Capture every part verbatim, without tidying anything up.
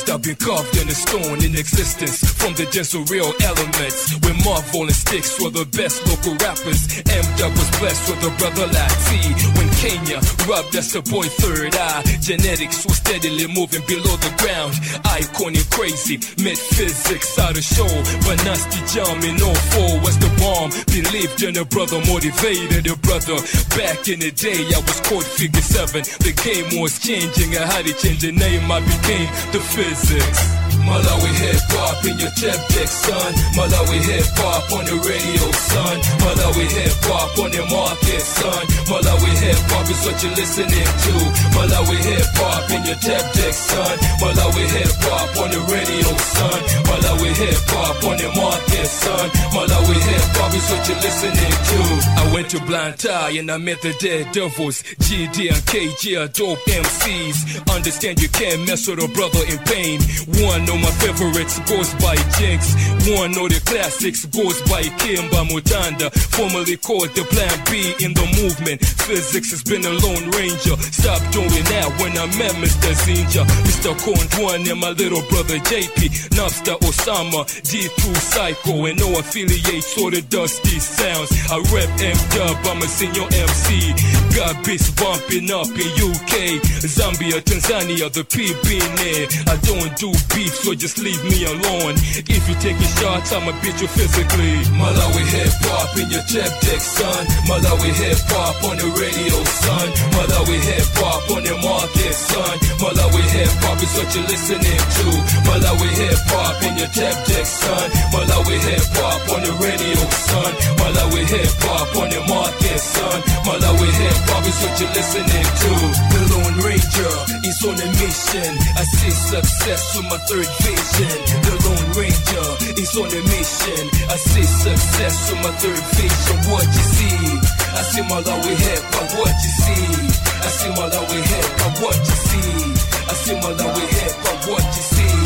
must have been carved in the stone in existence from the dense real elements. When Marvel and Sticks were the best local rappers, M-Dub was blessed with a brother like T. When Kenya rubbed, that's the boy Third Eye. Genetics was steadily moving below the ground. Icon and crazy, met physics out of show. But nasty jam in oh four was the bomb. Believed in a brother, motivated a brother. Back in the day, I was called Figure Seven. The game was changing, I had to change the name, I became the Physics. Malawi hip-hop in your tap deck, son. Malawi hip-hop on the radio, son. Malawi hip-hop on the market, son. Malawi hip-hop is what you're listening to. Malawi hip-hop in your tap deck, son. Malawi hip-hop on the radio, son. Malawi hip-hop on the market, son. Malawi hip-hop is what you're listening to. I went to Blind Tie and I met the Dead Devils. G D and K G are dope M Cs. Understand you can't mess with a brother in pain. One of my favorites goes by Jinx. One of the classics goes by Kimba Mutanda, formerly called the Plan B in the movement. Physics has been a lone ranger. Stop doing that when I met Mister Zinja, Mister Kondwan and my little brother J P, Nobster Osama, D two Psycho, and no affiliates or the dusty sounds. I rep M-Dub, I'm a senior M C. Got beats bumping up in U K, Zambia, Tanzania, the P B there. I don't do beef, so just leave me alone. If you taking shots, I'ma beat you physically. Malawi hip-hop in your tap deck, son. Malawi hip-hop on the radio, son. Malawi hip-hop on the market, son. Malawi hip-hop is what you're listening to. Malawi hip-hop in your tap deck, son. Malawi hip-hop on the radio, son. Malawi hip-hop on the market, son. Malawi hip-hop is what you're listening to. The Lone Ranger is on a mission. I see success with my third vision. The Lone Ranger is on a mission. I see success with my third vision. What you see? I see Malawi hip-hop. What you see? I see Malawi hip-hop. What you see? I see Malawi hip-hop. What you see?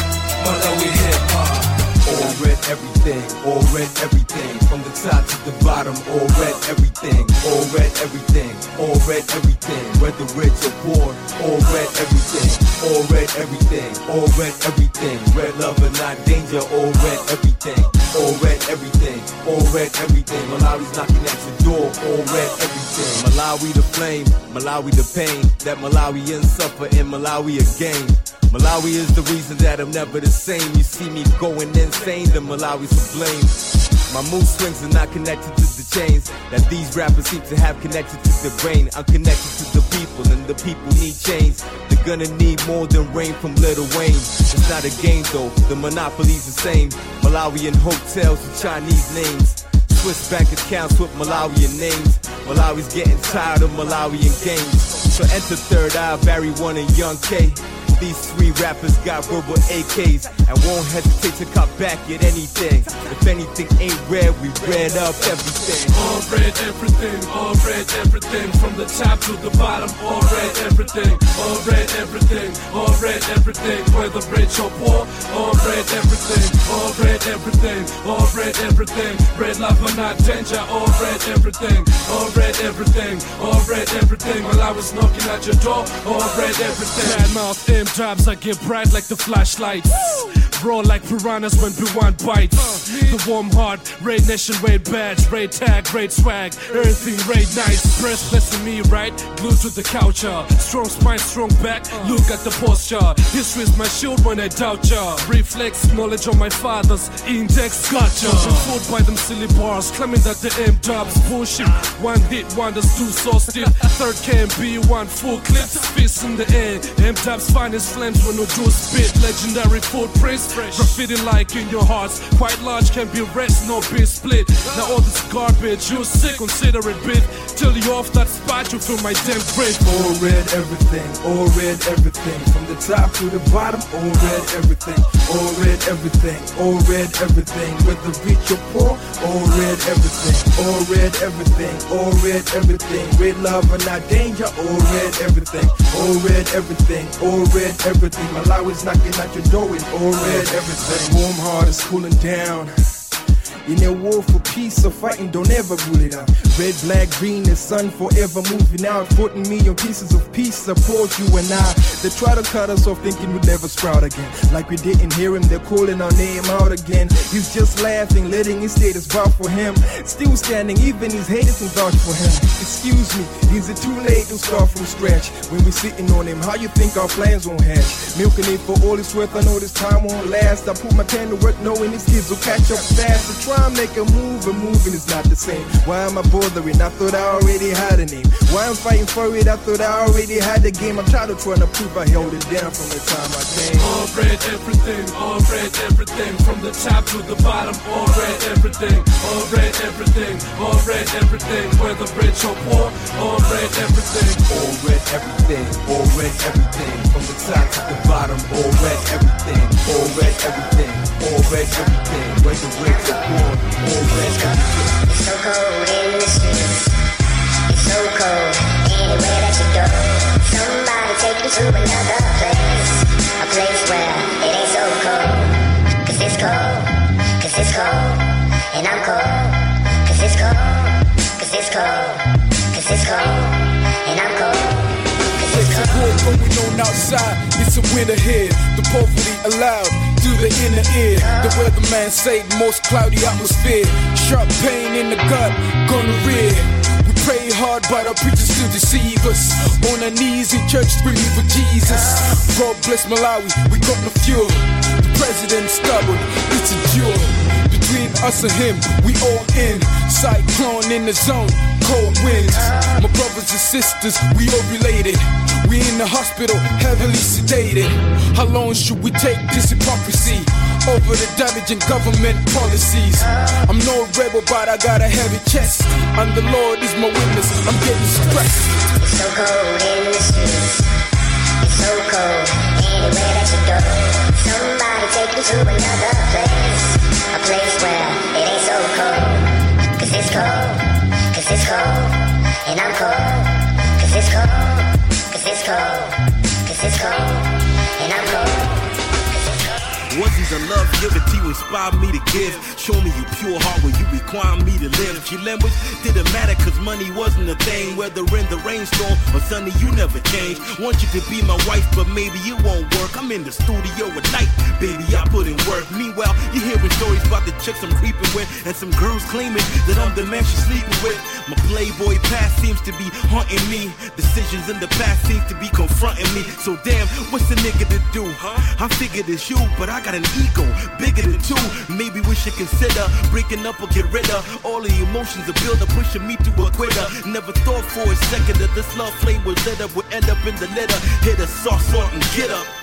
Malawi hip-hop. All red everything, all red everything. From the top to the bottom, all red everything. All red everything, all red everything. Whether rich or poor, all red everything. All red everything, all red everything. Red love and not danger, all red everything. All red everything, all red everything. Malawi's knocking at your door, all red everything. Malawi the flame, Malawi the pain. That Malawians suffer in Malawi again. Malawi is the reason that I'm never the same. You see me going insane, then Malawi's to blame. My mood swings are not connected to the chains that these rappers seem to have connected to the brain. I'm connected to the people, and the people need change. They're gonna need more than rain from Lil Wayne. It's not a game though, the monopoly's the same. Malawian hotels with Chinese names, Swiss bank accounts with Malawian names. Malawi's getting tired of Malawian games. So enter Third Eye, Barry One and Young K. These three rappers got verbal A Ks and won't hesitate to cut back at anything. If anything ain't red, we red up everything. All red everything, all red everything. From the top to the bottom, all red everything. All red everything, all red everything. Whether rich or poor, all red everything. All red everything, all red everything. Red love or not danger, all red everything. All red everything, all red everything. While I was knocking at your door, all red everything. Bad mouth in jobs, I get bright like the flashlights. Raw like piranhas when B one bites. The warm heart, Raid Nation, Raid badge, Raid tag, Raid swag, everything Raid nice. Breastpless in me, right? Glued to the couch, uh. Strong spine, strong back, look at the posture. History's my shield when I doubt ya. Reflex, knowledge of my father's index, gotcha. Fooled by them silly bars, claiming that the M-Dub's bullshit. One hit wonders, two so stiff. Third can be one full clip, fist in the air. M-Dub's finest flames when no do spit. Legendary footprints, graffiti like in your hearts. Quite large, can be rest, no be split. Now all this garbage, you sick, consider it bit. Till you off that spot, you feel my damn grave. All red everything, all red everything. From the top to the bottom, all red everything. All red everything, all red everything. Whether rich or poor, all red everything. All red everything, all red everything. Red love and not danger, all red everything. All red everything, all red everything. Malawi's knocking at your door with all red everything. Warm heart is cooling down. In a war for peace, so fighting don't ever rule it out. Red, black, green, the sun forever moving out. Forty million pieces of peace support you and I. They try to cut us off thinking we'd never sprout again. Like we didn't hear him, they're calling our name out again. He's just laughing, letting his status bow for him. Still standing, even his haters can vouch for him. Excuse me, is it too late to start from scratch? When we sitting on him, how you think our plans won't hatch? Milking it for all it's worth, I know this time won't last. I put my pen to work knowing these kids will catch up fast. So try and make a move, and moving is not the same. Why am I bothering? I thought I already had a name. Why I'm fighting for it? I thought I already had the game. I'm trying to try to prove I held it down from the time I came. All red everything, all red everything, from the top to the bottom. All red everything, all red everything, all red everything, whether rich or poor. All red everything, all red everything, all red everything, from the top to the bottom. All red everything, all red everything, all red everything, whether rich or poor. All red everything. It's so cold in the streets. It's so cold anywhere that you go. Somebody take you to another place, a place where it ain't so cold. Cause it's cold, cause it's cold, and I'm cold. Cause it's cold, cause it's cold, cause it's cold, and I'm cold. There's a war going on outside, it's a winter here. The poverty allowed through the inner ear. The weatherman say most cloudy atmosphere. Sharp pain in the gut, gonorrhea. We pray hard, but our preachers still deceive us. On our knees in church screaming for Jesus. God bless Malawi, we got no fuel. The president's stubborn, it's a duel. Between us and him, we all in. Cyclone in the zone, cold winds. My brothers and sisters, we all related. We in the hospital, heavily sedated. How long should we take this hypocrisy over the damaging government policies? I'm no rebel, but I got a heavy chest, and the Lord is my witness, I'm getting stressed. It's so cold in the streets. It's so cold anywhere that you go. Somebody take you to another place, a place where it ain't so cold. Cause it's cold, cause it's cold, and I'm cold. Cause it's cold, cause it's cold, cause it's cold, and I'm cold. Wasn't the love given to you inspired me to give? Show me you pure heart when you require me to live. Your language didn't matter cause money wasn't a thing. Whether in the rainstorm or sunny, you never change. Want you to be my wife, but maybe it won't work. I'm in the studio at night, baby, I put in work. Meanwhile, you're hearing stories about the chicks I'm creeping with, and some girls claiming that I'm the man she's sleeping with. My playboy past seems to be haunting me. Decisions in the past seems to be confronting me. So damn, what's a nigga to do, huh? I figured it's you, but I got an ego bigger than two. Maybe we should consider breaking up or get rid of all the emotions of build up, pushing me to a quitter. Never thought for a second that this love flame was lit up, would end up in the litter. Hit a soft salt and get up.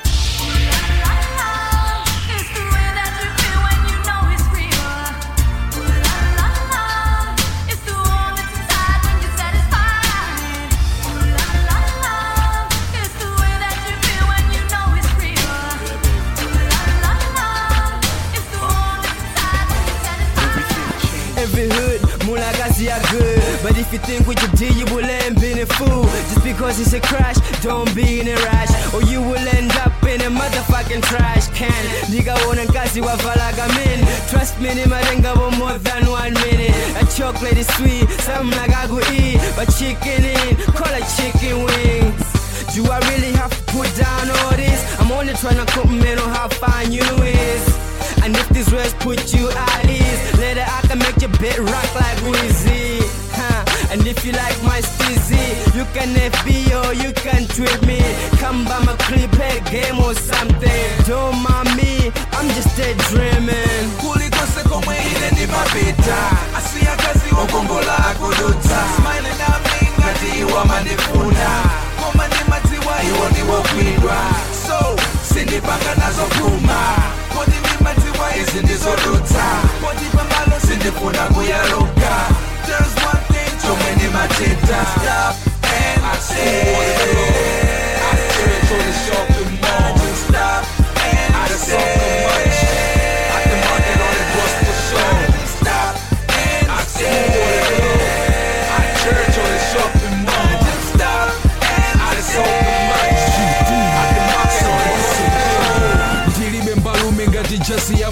Every hood, Mulagazi are good. But if you think what you did, you will end being a fool. Just because it's a crash, don't be in a rush, or you will end up in a motherfucking trash can. Nigga wanna gazi wa valagamin. Trust me, ni marenga for more than one minute. A chocolate is sweet, some like I go eat. But chicken in, call it chicken wings. Do I really have to put down all this? I'm only trying to compliment on how fine you is. And if these words put you at ease, later I can make your bed rock like Weezy, huh? And if you like my stizzy, you can F B or you can tweet me. Come by my clip, play a game or something. Don't mind me, I'm just daydreaming. Kulikose kome ile ni mapita, asiya kazi wakongola kuduta. Smiling at me, ngati iwa manifuna. Koma ni matiwa, iwa ni wakwidwa. So, sindi panga nazo kuma. Kodi mi matiwa, isi ndizo duta. Kodi pambalo, sindi puna kuyaruka. There's one thing, too many matita. Stop and say. I turn to the shopping mall. Stop and say. I can mark it on the bus for sure. Stop and say. I turn to the shopping mall. Stop and say. ndiri bembalume ngati jasi ya malume.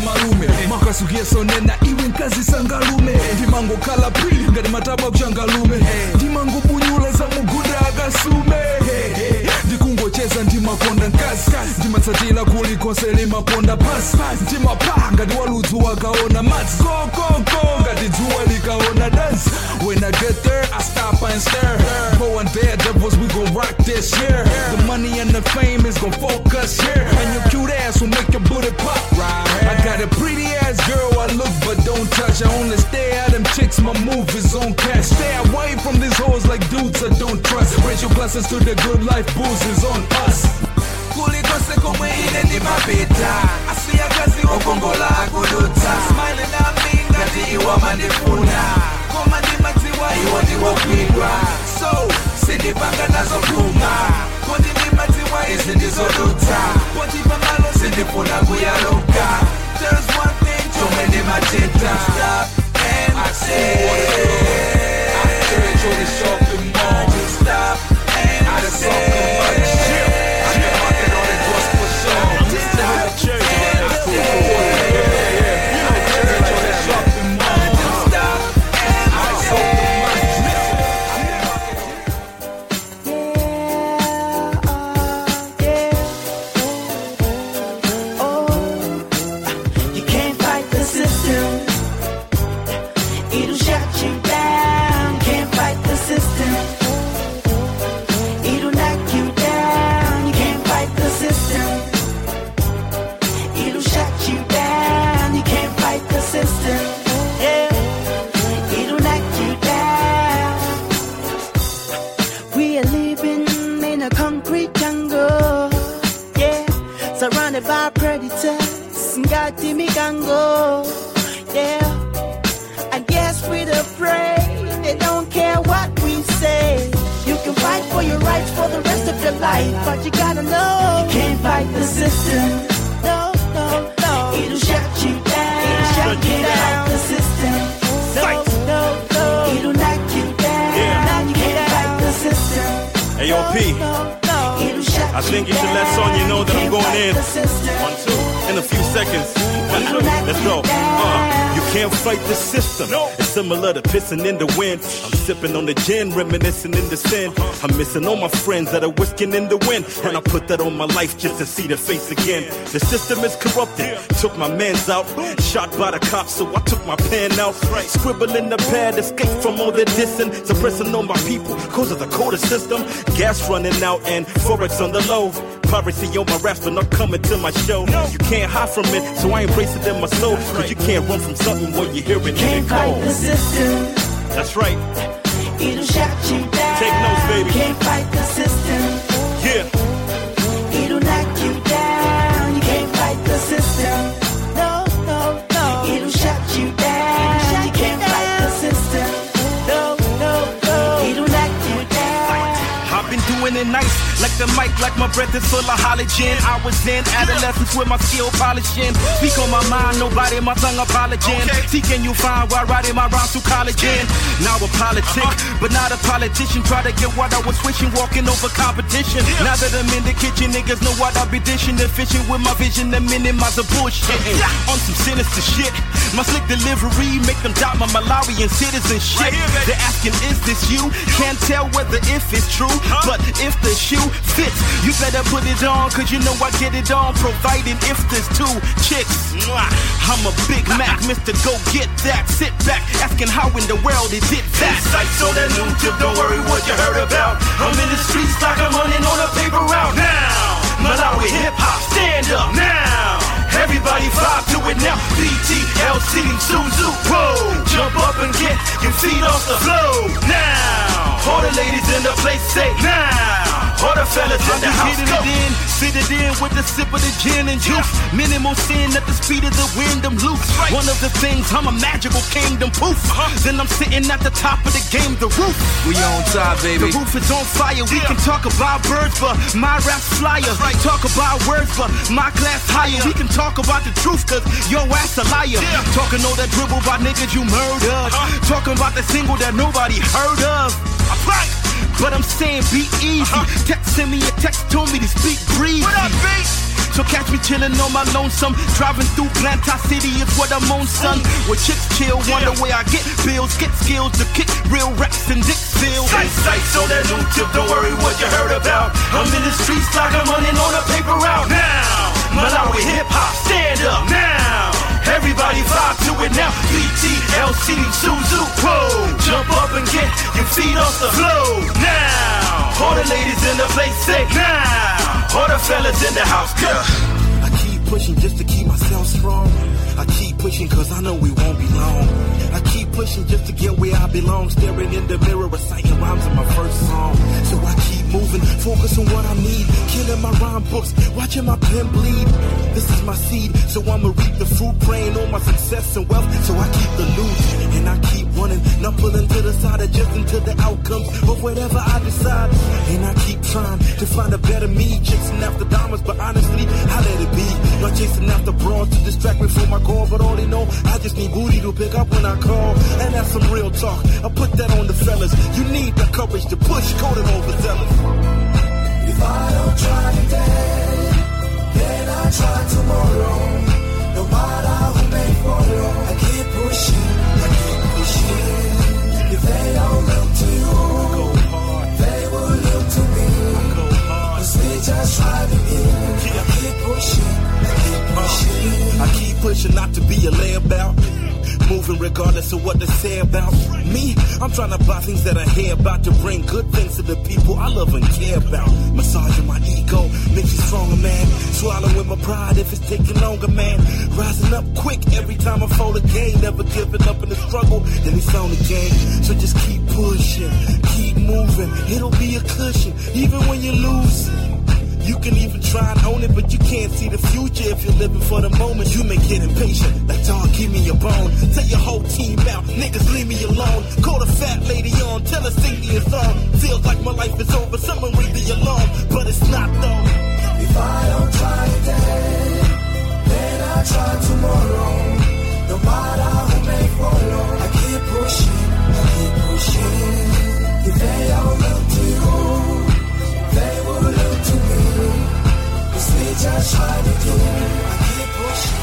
makasugeso nena iwe nkazi sangalume ndimango kala pili ngati mataba kuchangalume ndimango bunyula za muguda akasume ndikungocheza ndimakonda nkazi ndimatsatila kulikose limaponda pasi ndimapaa ngati waludzu wakaona madzi kokoko ngati dzuwa likaona dansi. When I get there I stop and stare. Go and daredevils we gon' rock this year. The money and the fame is gon' focus here, and your cute ass will make your booty pop. I got a pretty ass girl I look but don't touch. I only stay at them chicks, my move is on cash. Stay away from these hoes like dudes I don't trust. Raise your glasses to the good life, booze is on us. Kulikose komwe ine ndi mapita asiya kazi wokongola akudutsa smiling at me ngati iwa mandifuna koma ndimatiwa iwo ndiwokwidwa so sindipanga nazo kuma kodi ndimatiwa izi ndizodutsa poti pamalo sindifuna kuyaluka. There's one thing chomwe ndimachita stop and I say I enjoy the shopping mall. Stop and I say by predators, got Timmy Gango. Yeah, I guess we're afraid they don't care what we say. You can fight for your rights for the rest of your life, but you gotta know you can't fight the system. No, no, no, it'll shut you down. It'll shut you down. The system. No, no, no, it'll knock you down. Yeah. Now you can't fight the system. Hey, yo, P. No, no, I think you should let Sonya know that I'm going in. One, two, in a few seconds. Let's go. Uh, you can't fight the system. It's similar to pissing in the wind. I'm sipping on the gin, reminiscing in the sin. I'm missing all my friends that are whisking in the wind. And I put that on my life just to see the face again. The system is corrupted. Took my mans out. Shot by the cops, so I took my pen out. Scribble in the pad, escape from all the dissing. Suppressing on my people, cause of the quota system. Gas running out and Forex on the low. Piracy on my raps, but not coming to my show. You can't hide from it, so I embrace it in my soul. Cause you can't run from something when you hear it and can't it fight the system. That's right. It'll shut you down. Take notes, baby. Can't fight the system. Yeah. It'll knock you down. You can't fight the system. No, no, no. It'll shut you down. Shut you can't down. Fight the system. No, no, no. It'll knock you down. I've been doing it nice. Like the mic, like my breath is full of halogen. I was in adolescence with my skill polishing. Speak on my mind, nobody, my tongue apologizing. Okay. See, can you find while writing my rhymes through college in? Now a politic, uh-huh. but not a politician. Try to get what I was wishing, walking over competition. Yeah. Now that I'm in the kitchen, niggas know what I be dishing. They're fishing with my vision, the minimize the bullshit. Yeah. On some sinister shit. My slick delivery make them doubt my Malawian citizenship. Right here, they're asking, is this you? Can't tell whether if it's true, huh? But if the shoe fits, you better put it on, cause you know I get it on, providing if there's two chicks. I'm a Big Mac, Mister Go Get That. Sit back, asking how in the world is it that? Sights on that new tip, don't worry what you heard about. I'm in the streets like I'm running on a paper route. Now, Malawi hip-hop, stand up now. Everybody vibe to it now. B T L C, Suzu, whoa. Jump up and get your feet off the floor now. All the ladies in the place say now. All the fellas in the house go. It in, fit it in with the sip of the gin and juice. Yeah. Minimal sin at the speed of the wind, I'm loose. Right. One of the things, I'm a magical kingdom, poof. Uh-huh. Then I'm sitting at the top of the game, the roof. We on top, baby. The roof is on fire. Yeah. We can talk about birds, but my rap's flyer. Right. Talk about words, but my class higher. Yeah. We can talk about the truth, cause your ass a liar. Yeah. Talking all that dribble about niggas you murdered. Uh-huh. Talking about the single that nobody heard of. Right. But I'm saying be easy. Uh-huh. Texting me a text told me to speak breezy. What up, B? So catch me chillin' on my lonesome, driving through Plantar City is what I'm on, son. Where chicks chill, wonder where I get bills, get skills to kick real raps in Dixville. Sight, sight, so that new tip, don't worry what you heard about. I'm in the streets like I'm running on a paper route. Now, Malawi hip hop, stand up now. Everybody vibe to it now. B T L C, Suzu, whoa. Jump up and get your feet off the floor now. All the ladies in the place say now. All the fellas in the house, girl. I keep pushing just to keep myself strong. I keep pushing cause I know we won't be long. I keep pushing just to get where I belong. Staring in the mirror, reciting rhymes in my first song. So I keep moving, focus on what I need. Killing my rhyme books, watching my pen bleed. This is my seed, so I'ma reap the fruit. Praying on my success and wealth, so I keep the loot. And I keep running, not pulling to the side, adjusting to the outcomes of whatever I decide. And I keep trying to find a better me. Chasing after diamonds, but honestly, I let it be. Not chasing after broads to distract me from my goal, but all they know, I just need booty to pick up when I call. And that's some real talk, I put that on the fellas. You need the courage to push, coding overzealous. If I don't try today, then I try tomorrow. No matter who may follow, I keep pushing, I keep pushing. If they don't look to you, they will look to me. Cause we just try to be. I keep pushing, I keep pushing. I keep pushing not to be a layabout. Moving regardless of what they say about me. I'm trying to buy things that I hear about to bring good things to the people I love and care about. Massaging my ego, makes you stronger, man. Swallowing my pride if it's taking longer, man. Rising up quick every time I fall again. Never giving up in the struggle, then it's on the game. So just keep pushing, keep moving. It'll be a cushion, even when you lose. You can even try and own it, but you can't see the future if you're living for the moment. You may get impatient, like dog, give me a bone. Tell your whole team out, niggas leave me alone. Call the fat lady on, tell her sing me a song. Feels like my life is over, someone ring the alarm, but it's not though. If I don't try today, then I try tomorrow. No matter who may follow, I keep pushing, I keep pushing. If they don't look to you, they will look to me. Cause we just try to do. I keep pushing.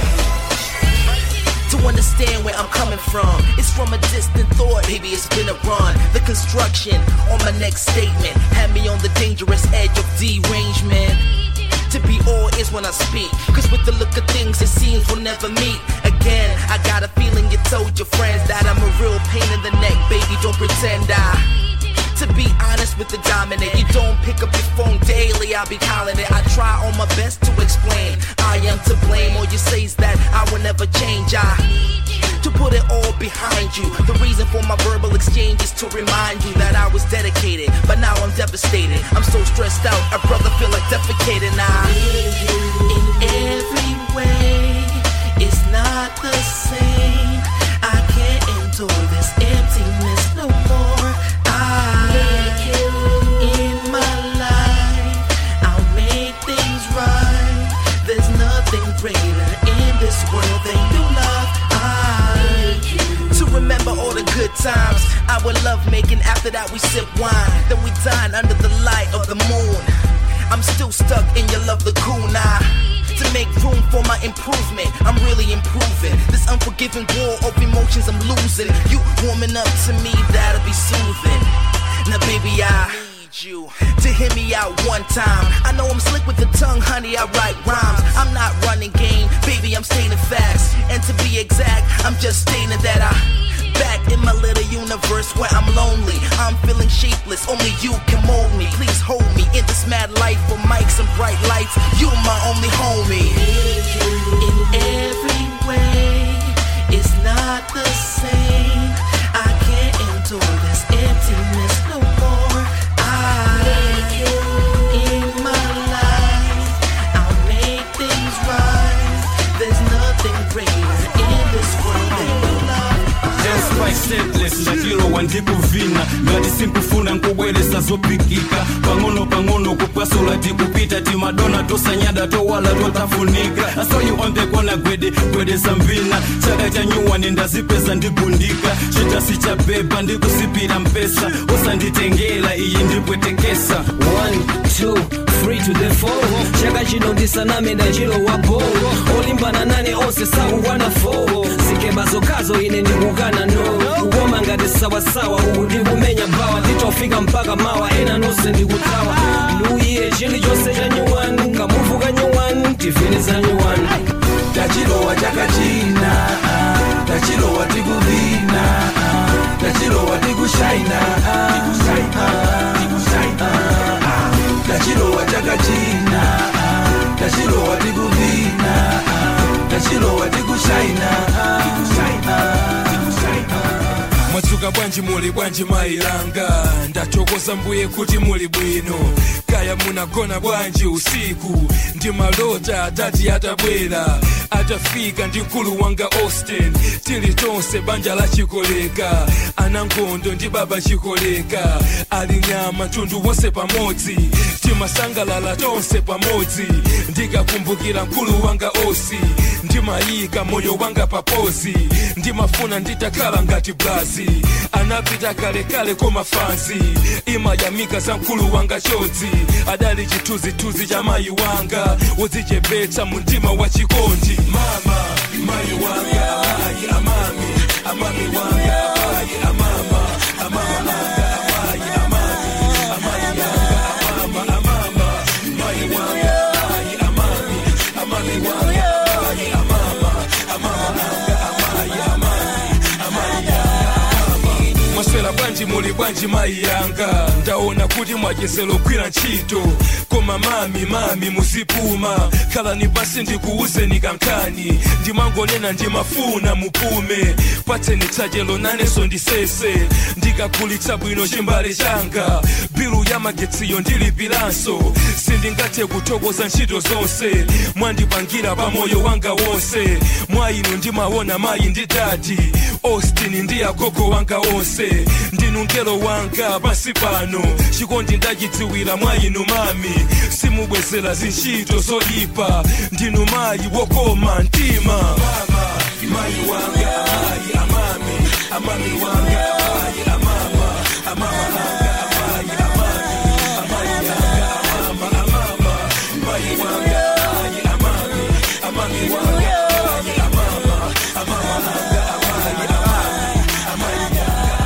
To understand where I'm coming from, it's from a distant thought, maybe it's been a run. The construction on my next statement had me on the dangerous edge of derangement. To be all is when I speak, cause with the look of things it seems we'll never meet again. I got a feeling you told your friends that I'm a real pain in the neck, baby, don't pretend I. To be honest with the dominant, you don't pick up your phone daily, I'll be calling it. I try on my best to explain, I am to blame. All you say is that I will never change. I to put it all behind you. The reason for my verbal exchange is to remind you that I was dedicated, but now I'm devastated. I'm so stressed out, a brother feel like defecating. I in every way, it's not the same. I can't endure this emptiness no more. I, in my life, I'll make things right. There's nothing greater in this world than your love. I, to remember all the good times I would love making. After that we sip wine, then we dine under the light of the moon. I'm still stuck in your love lacuna. To make room for my improvement, I'm really improving. This unforgiving war of emotions I'm losing. You warming up to me, that'll be soothing. Now baby, I need you to hear me out one time. I know I'm slick with the tongue, honey, I write rhymes. I'm not running game, baby, I'm stating facts. And to be exact, I'm just stating that I back in my little universe where I'm lonely. I'm feeling shapeless, only you can mold me. Please hold me in this mad life of mics and bright lights. You're my only homie. In every way, it's not the same. I can't endure this emptiness no more. I, in my life, I'll make things right. There's nothing greater in this world than your love. Just quite simplest. ndachilo wandikuvina ngati simpufuna nkubweresa zopikika pang'ono pang'ono kupasula tikupita timadona tosanyada towala totafunika I saw you on the corner gwede gwede sambina chaka cha nyuwa nendazipeza ndigundika chitasi cha beba ndikusipira mpesa usanditengela iyi ndipwetekesa one two three to the four chaka chino ndisaname ndachilo wapo olimbana nane onse sakuwana four sikeba zokazo ine ndikukana no kuwoma ngati sawasawa uku ndikumenya bawa nditofika mpaka mawa ena nonse ndikutawa nuye chili chonse cha nyuwani kamuvu ka nyuwani tivini za nyuwani tachilowa chaka china tachilowa tikuvina tachilowa tikushaina tachilowa chaka china tachilowa tikuvina tachilowa tikushaina Mwatsuka bwanji muli bwanji mailanga ndachokoza mbuye kuti muli bwino kaya munagona bwanji usiku ndi malota atati atabwera atafika ndi mkulu wanga Austin tili tonse banja la Chikoleka anangondo ndi baba Chikoleka ali nyama tundu wonse pamodzi timasangalala tonse pamodzi ndikakumbukira mkulu wanga Osi ndimayika moyo wanga papozi ndimafuna nditakhala ngati Blazi anapita kale kale koma fansi imayamika za mkulu wanga Chodzi adali chituzituzi cha mayi wanga wodzichepetsa mundima wa chikondi mama mayi wanga amayi amami amami wanga amayi amama amama amayi amami amayi wanga amama amama mayi wanga amayi amami amami wanga amayi amama amama amayi amami amayi Mwaswela bwanji muli bwanji mayi yanga ndaona kuti mwachezelo kwira ntchito koma mami mami musipuma khala ni basi ndikuuzeni kankani ndimangonena ndimafuna mupume patseni tsajelo naneso ndisese ndikakulitsa bwino chimbale changa bilu ya magetsiyo ndilipiranso sindingathe kuthokoza ntchito zonse mwandipangira pa moyo wanga wonse mwa inu ndimaona mayi ndi dadi Austin ndi agogo wanga onse ndinu ngelo wanga pasi pano chikondi ndachidziwira mwa inu mami simubwezera zintchito zoyipa ndinu mayi wokoma mtima mama mayi wanga amayi amami amami wanga amayi amama amama wanga amayi amami amayi wanga amama amama mayi wanga amayi amami amami wanga amayi amama amama wanga amayi amami amayi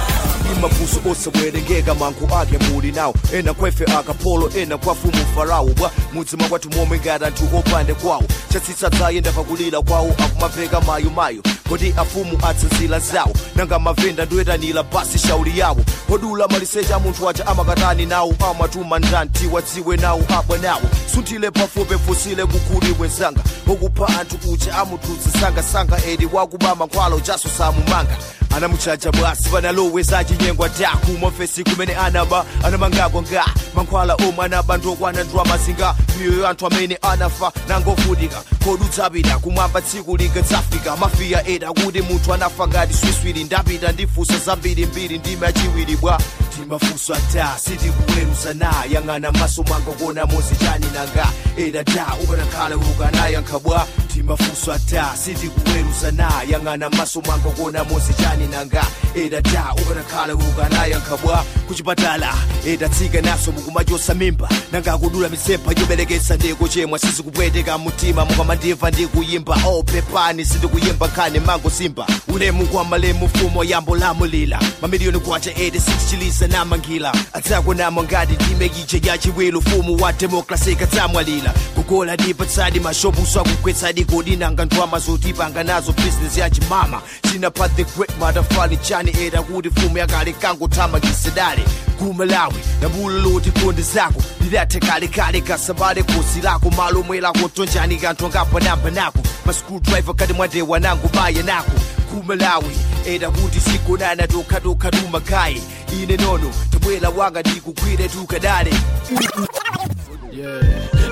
mapuso osabwerengeka mangu ake muli nawo ena kwefe akapolo ena kwafumu farao bwa mudzima kwati momwe ngati anthu opande kwawo chatsitsa dzayenda pakulira kwawo akumapeka mayo mayo kodi afumu atsanzira zawo nanga mavenda ndoyetanira basi shauri yawo podula malisecha munthu acha amakatani nawo amatuma ndanti wadziwe nawo abwa nawo sunthile pafupi fusile kukhuli wenzanga okupha anthu ucha amututsi sanga-sanga edi wakubama nkhwalo chaso samumanga anamuchacha bwasi panaloweza chinyengwa taku mofesi kumene anaba anamangako nga mankhwala omwe anabandokwana ndwamazinga miyoyo anthu amene anafa nangovutika kodutsapita kumwamba tsiku likatsafika mafiya eda kuti munthu anafa ngati swiswiri ndapita ndifusa zambirimbiri ndime achiwiri bwa timafusa ta sitikuweruza na yang'ana maso mwanga kuona mozi chani nanga eda ta ukanakhala ukanayankha bwa timafusa ta sitikuweruza na yang'ana maso mwanga kuona mozi chani nanga eda ta ukanakhala ukanayankha bwa kuchipatala eda tsika naso mukumachosa mimba nanga kudula misepa yoberekesa ndiko chemwa sizikupweteka mtima mukamandimva ndikuyimba oh pepani sindikuyimba khane mango simba ulemu kwa malemu fumo yambo lamulila mamiliyoni kwacha eighty-six chilisa namangila atsako namo ngati ndimekiche ya chiwelo fumu wa demokrasi katsamwalila kugola dipatsadi mashobuso akukwetsadi kodi nanga ndwama zotipanga nazo business ya chimama china pa the great motherfucking chani eda kuti fumu yakale kangotama kisedale kumalawi nambulo loti konde zako ndidathe kale kale kasabale kosi lako malo mwelako tonjani kanthu ngapa namba nako ma screwdriver kati mwandewa nangu baya nako kumalawi eda kuti sikonana tokha tokha tumakai ine nono tabwela wanga ndikukwire tukadale yeah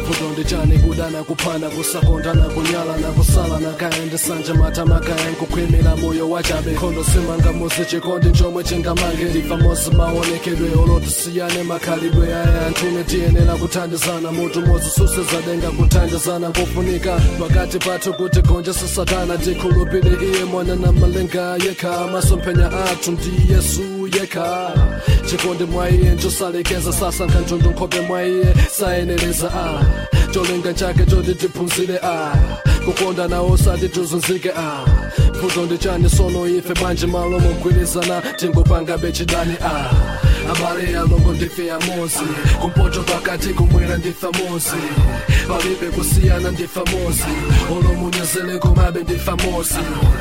vutonde chane kudana kuphana kusakondana kunyalana kusalana kaende sanje matama kaen kukhwimila moyo wachabe khondo simanga muzi chikondi nchomwe chingamange ndifa mozi maonekedwe olotisiyane makhalidwe aya antune tiyenera kuthandizana mutu mozi susezadenga kuthandizana kufunika pakati pathu kuti gonje sisatana tikhulupile iye mwana na malenga yekha masomphenya athu ndi yesu yekha chikondi mwa iye nchosalekeza sasankha nthundu nkhope mwa iye sayeneleza a cholinga chake choti tiphunzire a kukonda nawo sati tuzunzike a vutonde chane sono ife banje malo mogwirizana tingopanga bechidani a abale alongo ndife amozi kumpoto pakati kumwera ndife amozi palibe kusiyana ndife amozi olomunyezele komabe ndife amozi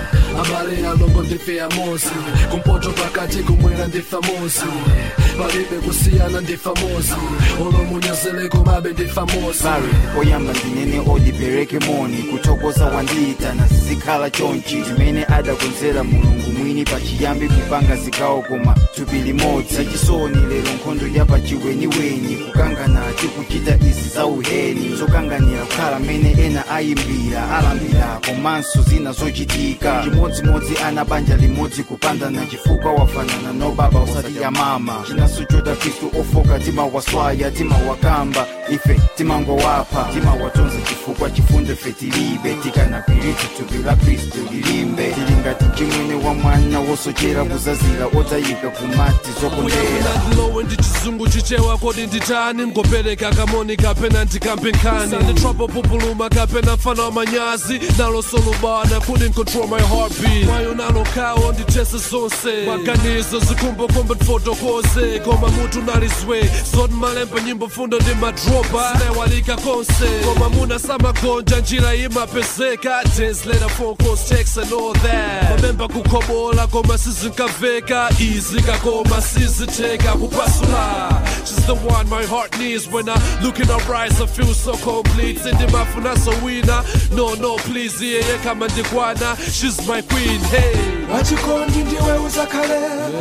abale alongo ndife amozi kumpoto pakati kumwera ndife amozi palibe kusiyana ndife amozi olomunyezele komabe ndife amozi oyamba ndinene odipereke moni kutokoza wandita na zikhala chonchi zimene adakonzera mulungu mwini pachiyambi kupanga zikawo koma tupili modzi sachisoni lero nkhondo yapa chiweniweni kukangana tikuchita izi za uheni zokanganira kukhala mene ena ayimbira alambira komanso zina zochitika chimodzimodzi ana banja limodzi kupandana chifukwa wafanana no baba usati ya mama chinaso chota khristu ofoka timawaswaya timawakamba ife timangowapha timawatonza chifukwa chifundo ife tilibe tikanakwiriti thupi la khristu lilimbe tilingati chimwene wa mwana wosochera kuzazira otayika kumati zokondera lowe ndichizungu chichewa kodi nditani ngopereka kamoni kapena ndikampe nkhani the trouble pupuluma kapena mfano wa manyazi nalo solubana couldn't control my heartbeat mwayo nalo kawo nditese zonse maganizo zikumbokombe tfotokoze koma mutu nalizwe zoti malembe nyimbo fundo ndi madropa sinewalika konse koma muna samagonja njira imapezeka days later phone calls texts and all that mamemba kukhobola koma sizinkaveka izika koma siziteka kupasula she's the one my heart needs when I look in her eyes I feel so complete sindimafuna sowina no no please iye yeah, kama ndikwana she's my queen hey wachikondi ndiwe uzakhale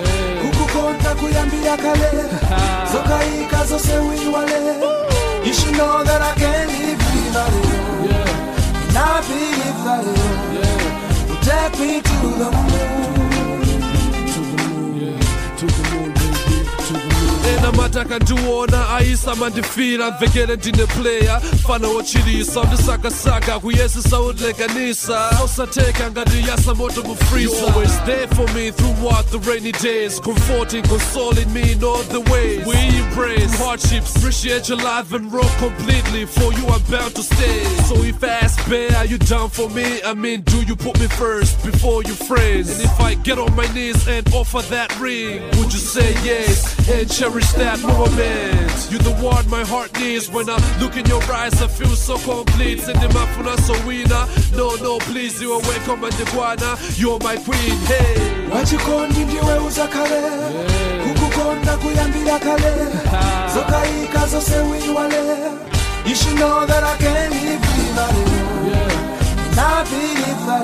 kukukonda kuyambira kale zokaika zose wiwale you should know that I can't live without you and I believe that you will take me to the moon to the moon yeah to the moon baby to the moon ena mataka ndiwona aisa mandifila mvekele ndine player fana wochilisa ndisakasaka kuyesisa udlekanisa osateka ngati yasa moto mufrisa you always there for me throughout the rainy days comforting consoling me in all the ways we embrace hardships appreciate your life and roll completely for you I'm bound to stay so if I ask babe are you down for me I mean do you put me first before your friends and if I get on my knees and offer that ring would you say yes and cherish that moment you're the one my heart needs when I look in your eyes I feel so complete sindimafuna sowina no no please you are welcome and ndikwana you're my queen hey wachikondi ndiwe uzakhale kukukonda kuyambira kale zokaika zose wiwale you should know that I can't live without you and I believe that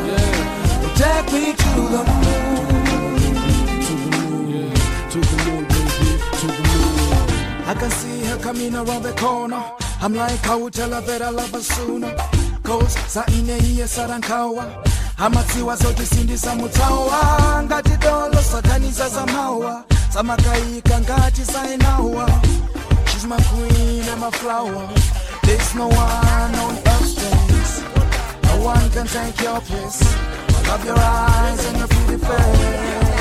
you will take me to the moon to the moon yeah to the moon to the moon. I can see her coming around the corner. I'm like, I will tell her that I love her sooner. Cause sa ine iye sarankawa amatsiwa zote sindisa mutawa ngati dolo sakaniza za mawa samakaika ngati sainawa she's my queen and my flower there's no one on earth's place no one can take your place I love your eyes and your pretty face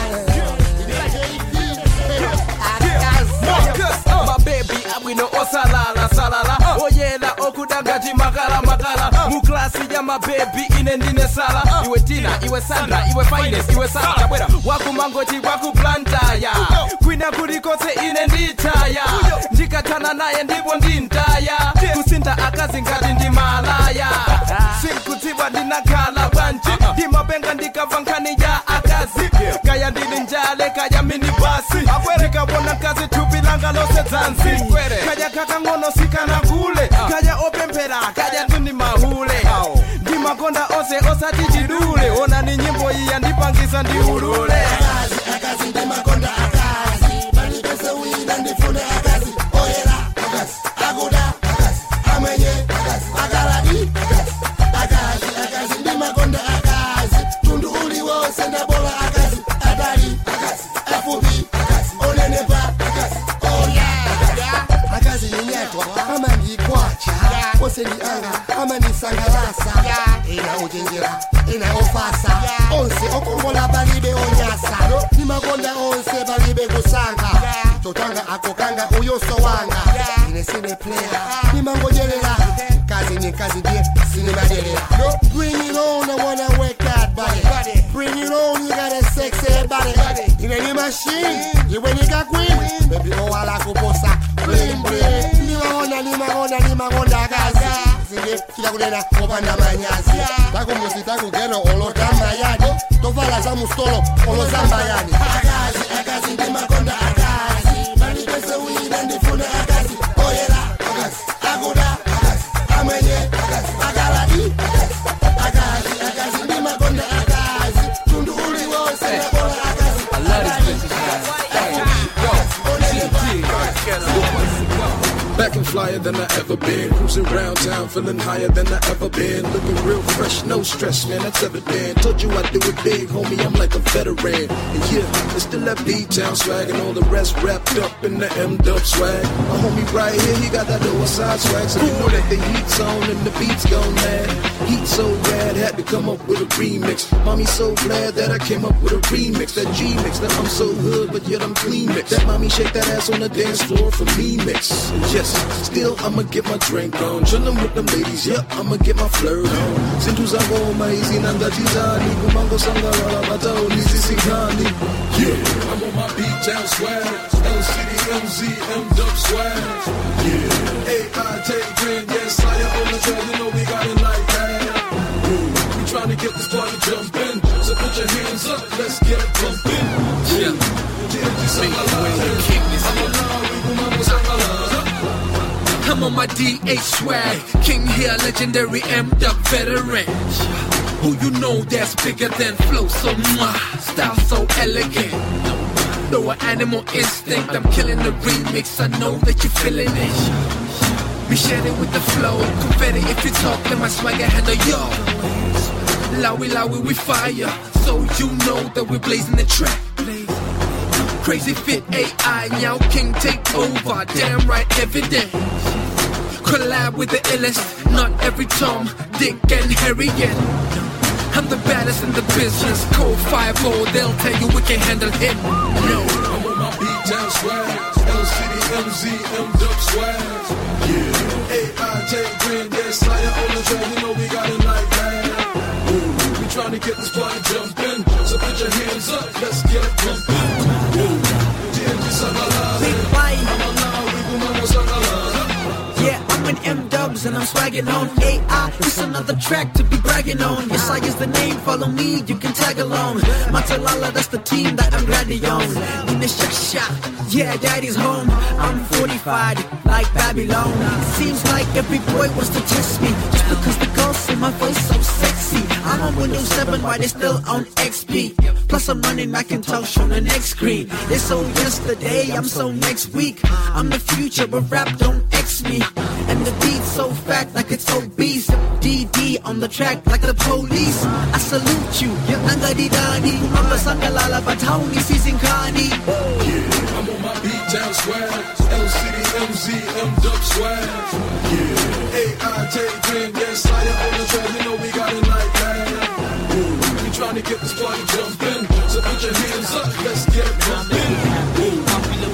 Marcus, my baby, abwino osalala salala oyela okudangati makala makala mu klasi ya my baby ine ndine sala iwe Tina iwe Sandra iwe Finest iwe Sandra bwera wakumangoti wakuplantaya kwina kulikose ine nditaya ndikatana naye ndipo ndintaya kusinta akazi ngati ndi malaya sikutiba ndinakhala bwanji ndimapenga ndikava nkhani ya akazi kaya ndili njale kaya minibasi ndikabona kazi thupi langa lose dzanzi kaya kakang'ono sikana kule kaya opemphera kaya tuni mahule ndimakonda ose osati chidule ona ni nyimbo iyi yandipangisa ndiulule akazi akazi ndimakonda akazi bandipese wina ndifune akazi oyera akazi akuda akazi ame kusangalasa ina ujinjira ina ofasa onse okongola balibe onyasa nimakonda onse balibe kusanga totanga akokanga uyoso wanga ine sine player nimangojelela kazi ni kazi die sine madelela bring it on, I wanna work that body bring it on, you got a sexy body in any machine you when you got queen baby oh ala kuposa bling bling nimakonda nimakonda nimakonda kazi sine kila kunena kopanda manyazi tako musi tako gero olo tamayani tovala za mustolo olo zambayani akazi akazi nimakonda akazi bani pesa uina ndifuna akazi oyela akazi agoda akazi amenye akazi agaladi akazi akazi akazi nimakonda akazi tundu uli wose nakola akazi I love this bitch. Back and flyer than I ever been. Cruising around town, feeling higher than I ever been. Looking real fresh, no stress, man, that's evident. Told you I do it big, homie, I'm like a veteran. And yeah, I still have B-Town swag and all the rest wrapped up in the M-Dub swag. My homie right here, he got that lower side swag, so you know that the heat's on and the beat's gone mad. Heat so rad, had to come up with a remix. Mommy so glad that I came up with a remix, that G-mix, that I'm so hood, but yet I'm clean mix. That mommy shake that ass on the dance floor for me mix. And yes, still I'ma get my drink on, chillin' with them ladies, yeah, I'ma get my flirt on. Sintu zango maizi nanga tizani, kumango sangara bata olizi sikani. Yeah, I'm on my B-Town swag, L City M Z, M-Dub swag. Yeah, A I take grand, yes, Slayer on the track, you know we got it like that. Yeah, we tryna get this party jumpin', so put your hands up, let's get it bumpin'. Yeah, I'm on my D H swag, King here, legendary M-Dub veteran. Who you know that's bigger than flow, so mwah, style so elegant. Though an animal instinct, I'm killing the remix, I know that you're feeling it. We share it with the flow, confetti if you talk, then my swagger handle y'all. Lowy, lowy, we fire, so you know that we're blazing the track. Crazy fit A I, now King take over, damn right evident. Collab with the illest, not every Tom, Dick and Harry yet. I'm the baddest in the business, Code five oh, they'll tell you we can handle him. No, I'm on my B-Town swag, L City M Z, M-Dub swag. Yeah, A I take grand, yeah, Slayer on the track, you know we got it like that. Ooh, we tryna get this party jumpin', so put your hands up, let's get it bumpin'. Ooh, D M G Sangala, I'm alive, we kumamo Sangala. Yeah, I'm in M-Dubs and I'm swagging on A I. It's another track to be bragging on. Yes, I is the name, follow me, you can tag along. Matalala, that's the team that I'm glad on. In the shasha, yeah, daddy's home. I'm fortified, like Babylon. Seems like every boy wants to test me, just because the girls see my voice so sexy. I'm on Windows seven, while they're still on X P. Plus I'm running Macintosh on the next screen. They so yesterday, I'm so next week. I'm the future, but rap don't X me. And the beat's so fat like it's obese. D D on the track like the police. I salute you, Nangadi Dani. I'm the Sangalala Batauni season Kani. Yeah, I'm on my B-Town swag, L City M Z, M-Dub swag. Yeah, A I take grand, yeah, Slayer on the track, you know we got it like that. Ooh, we tryna get this party jumpin', so put your hands up, let's get it bumpin'. Ooh,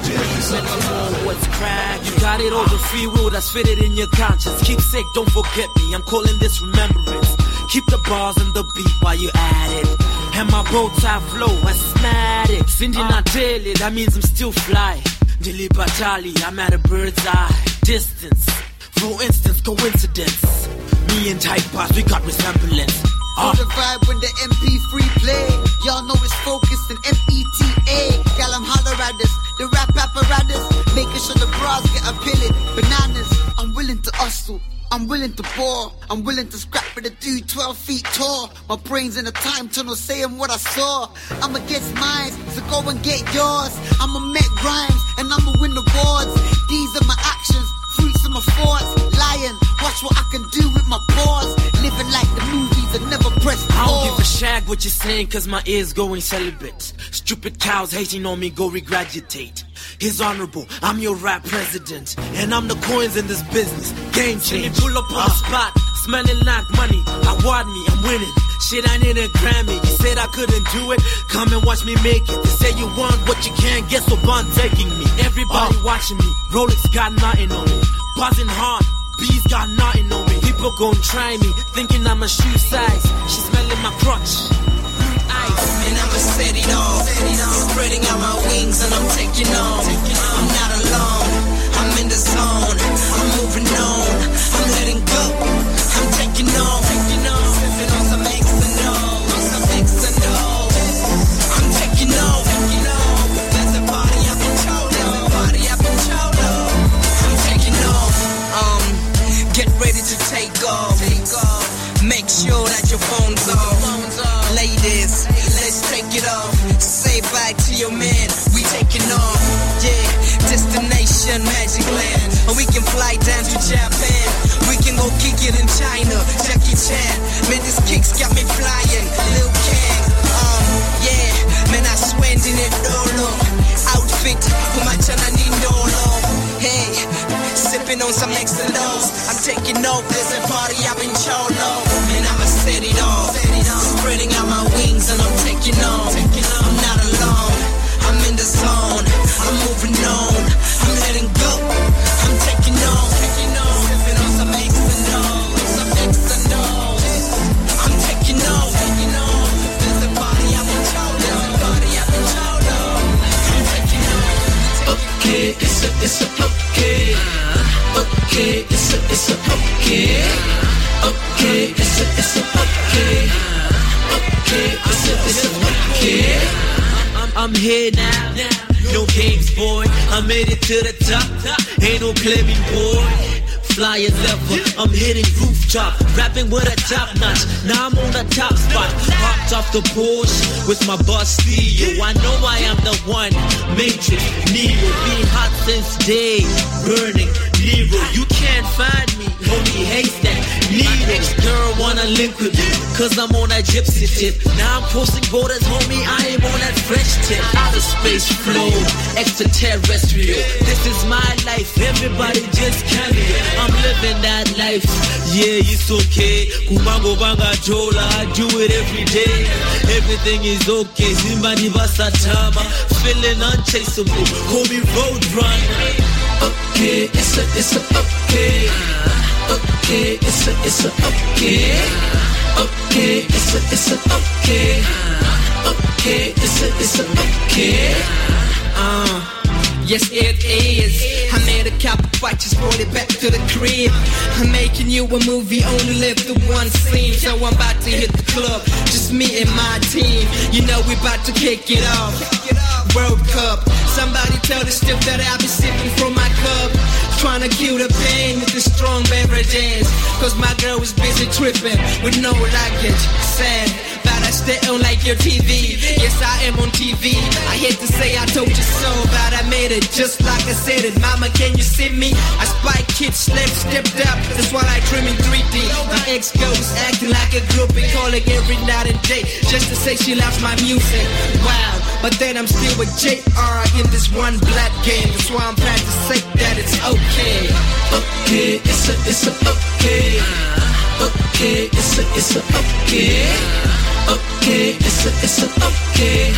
what's crack? You got it all the free will that's fitted in your conscience. Keep sick, don't forget me. I'm calling this remembrance. Keep the bars and the beat while you at it. And my road tie flow, asthmatic. Cindy not daily, that means I'm still fly. Dilly Batali, I'm at a bird's eye distance. For instance, coincidence. Me and Type Boss, we got resemblance. On the vibe when the M P three play. Y'all know it's focused in M E T A. Gal, I'm holler at this. The rap apparatus. Making sure the bras get a pillet. Bananas. I'm willing to hustle. I'm willing to pour. I'm willing to scrap with a dude twelve feet tall. My brain's in a time tunnel saying what I saw. I'ma get mine, so go and get yours. I'ma make rhymes and I'ma win awards. These are my actions. Fruits of my thoughts, lying. Watch what I can do with my paws. Living like the movies and never press pause. I don't give a shag what you're saying, cause my ears going celibate. Stupid cows hating on me, go regraduate. His honorable, I'm your rap president. And I'm the coins in this business. Game change. Pull up on the spot, smelling like money. Award me, I'm winning. Shit, I need a Grammy. You said I couldn't do it. Come and watch me make it. They say you want what you can't get, so bond taking me. Everybody uh. watching me. Rolex got nothing on me. Buzzing hard. Bees got nothing on me. People gon' try me, thinking I'm a shoe size. She smelling my crotch. Ice. And I'ma set it off. Spreading out my wings and I'm taking on. I'm not alone. I'm in the zone. I'm moving on. I'm letting go. I'm taking on. Sipping on some X and O. On some X and O. I'm taking on. There's a party up in Cholo. Party up in Cholo. I'm taking on. Um, get ready to take off. Make sure that your phone's off. Ladies, let's take it off. Say bye to your man. We taking off. Yeah, destination Magic Land. Or we can fly down to Japan. We can go kick it in China. Jackie Chan. Man, this kicks got me flying. Lil Kang. Um, yeah, man, I swear in it dolo. Outfit, kumachana ni dolo. Hey, sipping on some X and O's. I'm taking off. There's a party up in Cholo. Man, I'ma set it off. Spreading out my wings and I'm taking on. I'm not alone. I'm in the zone. I'm moving on. I'm letting go. I'm taking on. Sipping on some X and O's. Some X and O's. I'm taking on. There's a party up in Cholo. There's a party up in Cholo. I'm taking on. Okay, it's a, it's a okay. Okay, it's a, it's a okay. Okay, it's a, it's a okay. Okay, it's a, it's a okay. I'm, I'm here now, no games, boy. I made it to the top, ain't no claiming, boy. Fly as ever, I'm hitting rooftop, rapping with a top notch. Now I'm on the top spot, hopped off the Porsche with my boss Theo. I know I am the one, Matrix, Neo, being hot since day, burning Nero. You can't find me, homie, hates that Nero. Girl wanna link with me, cause I'm on that gypsy tip. Now I'm crossing borders, homie, I am on that French tip. Outer space flow, extraterrestrial. This is my life, everybody just come here. I'm living that life, yeah, it's okay. Kumango banga chola, I do it every day. Everything is okay, Zimbani Basatama. Feeling unchaseable, call me road runner. Okay, it's a, it's a okay. Okay, it's a, it's a okay. Okay, it's a, it's a okay. Okay, it's a, it's a okay. Uh. Yes, it is. I made a couple fights, just brought it back to the crib. I'm making you a movie, only live through one scene. So I'm about to hit the club, just me and my team. You know we about to kick it off. World Cup. Somebody tell the stiff that I'll be sipping from my cup. Trying to kill the pain with the strong beverages. Cause my girl was busy tripping with no luggage. Sad, but I stay on like your T V. Yes, I am on T V. I hate to say I told you so, but I made it just like I said it. Mama, can you see me? I spike kids, slept, stepped up. That's why I dream in three D. My ex goes acting like a groupie, calling every night and day just to say she loves my music. Wow, but then I'm still with J R in this one black game. That's why I'm proud to say that it's okay. Okay, it's a, it's a okay. Okay, it's a, it's a okay. Okay, it's a, it's a okay.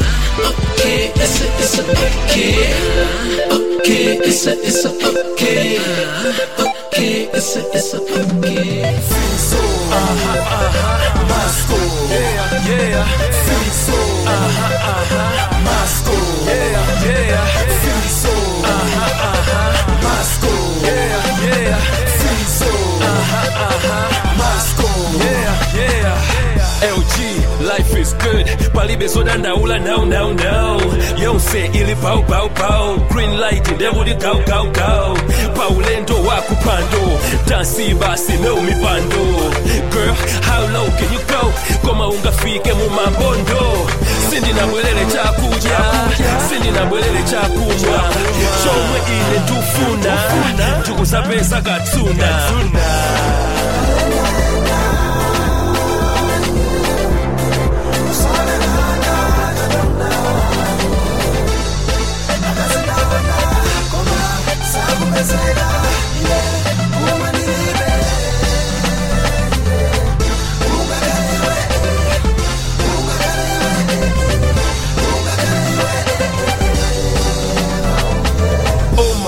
Okay, it's a, it's a okay. Okay, it's a, it's a okay. Okay, it's a, it's a okay. So, uh-huh, uh-huh, Moscow. Yeah, yeah. So, uh-huh, uh-huh, Moscow. Yeah, yeah. So, uh-huh, uh-huh, Moscow. Yeah, yeah. So, uh-huh, uh-huh, Moscow. Yeah, yeah. L G, life is good. Palibe soda naula now, now, now. Yonse ili pau, pau, pau. Green light in devil di cow, cow, cow. Paulendo wakupando. Dansi basi no mi bando. Girl, how low can you go? Koma ungafike mu mambondo. Sindi na mwelele chakuja. Sindi na mwelele chakuja. Chomwe ile tufuna. Tukusa pesa katsuna.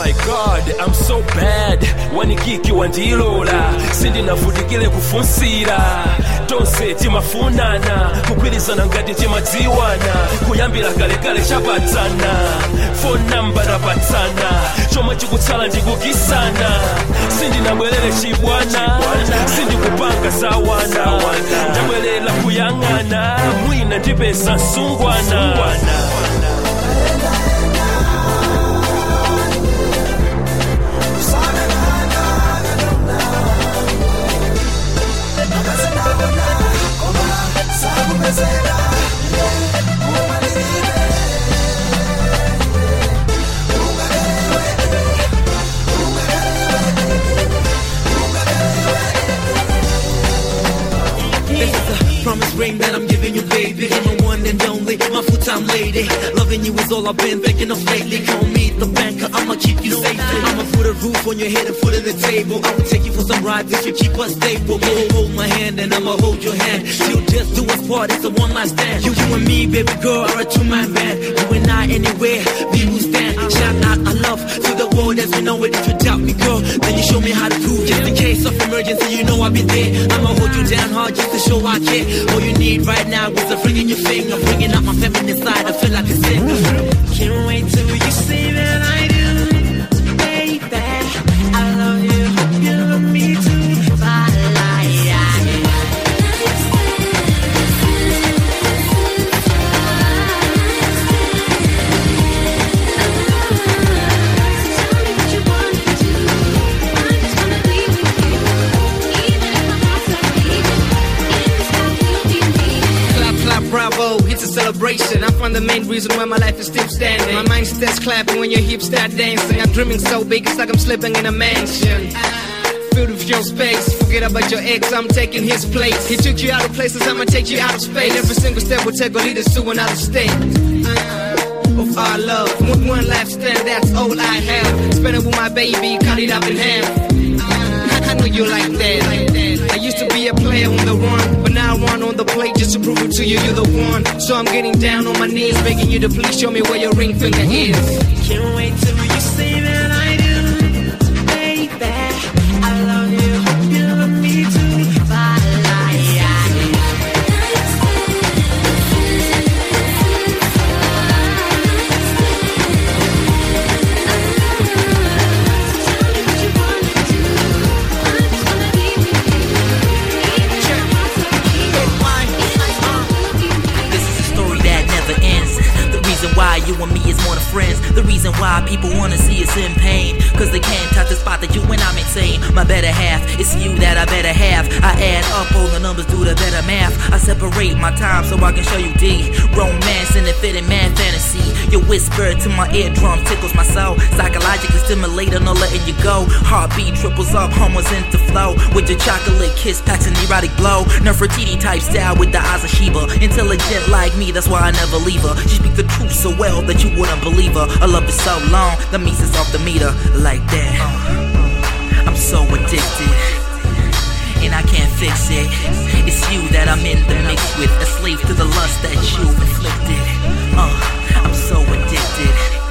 my god, I'm so bad. Wanikiki wandilola, sindinavutikile kufunsira. Tonse timafunana, kugwirizana ngati timadziwana. Kuyambira kale kale chapatsana, phone number rapatsana. Chomwe chikutsala ndikukisana, sindinabwerere chibwana, sindikupanga sawana. Ndabwerera kuyang'ana, mwina ndipeza nsungwana. This is a promise ring that I'm giving you, baby. You're my one and only, my full-time lady. Loving you is all I've been thinking of lately. Call me the banker, I'ma keep you safe. I'ma put a roof on your head and foot on the table. I will take you for some rides if you keep us stable. Go hold my hand and I'ma hold your hand. You'll just do us part, it's a one-night stand. You, you and me, baby girl, are a two-man band. You and I anywhere, we will stand. Shout out our love to the world as we know it. If you doubt me, girl, then you show me how to prove. Just in case of emergency, you know I'll be there. I'ma hold you down hard just to show I care. All you need right now is a ring in your finger, bringing out my feminine side. I feel like a sinner. Can't wait till you say that I do, baby. I love you, hope you love me too. Bye, Bravo, it's a celebration. I find the main reason why my life is still standing. My mind starts clapping when your hips start dancing. I'm dreaming so big, it's like I'm sleeping in a mansion. Filled with your space, forget about your ex, I'm taking his place. He took you out of places, I'ma take you out of space. Every single step will take will lead us to another state of our love. One, one life stand, that's all I have. Spend it with my baby, cut it up in half. I know you like that. I used to be a player on the run, but now I run on the plate just to prove it to you, you're the one. So I'm getting down on my knees, begging you to please show me where your ring finger is. Can't wait till you say that I do, baby. I love you, hope you love me too. Bye. Why you and me is more than friends. The reason why people wanna see us in pain, cause they can't touch the spot that you and I maintain. My better half, it's you that I better have. I add up all the numbers, do the better math. I separate my time so I can show you D. Romance and a fitting man fantasy. Your whisper to my eardrum tickles my soul. Psychologically stimulating, no letting you go. Heartbeat triples up, homos into flow. With your chocolate kiss packs an erotic blow. Nefertiti type style with the eyes of Sheba. Intelligent like me, that's why I never leave her. She speaks the truth so well that you wouldn't believe her. Her love is so long, that means it's off the meter. Like that, I'm so addicted, and I can't fix it. It's you that I'm in the mix with, a slave to the lust that you inflicted. uh, I'm so addicted,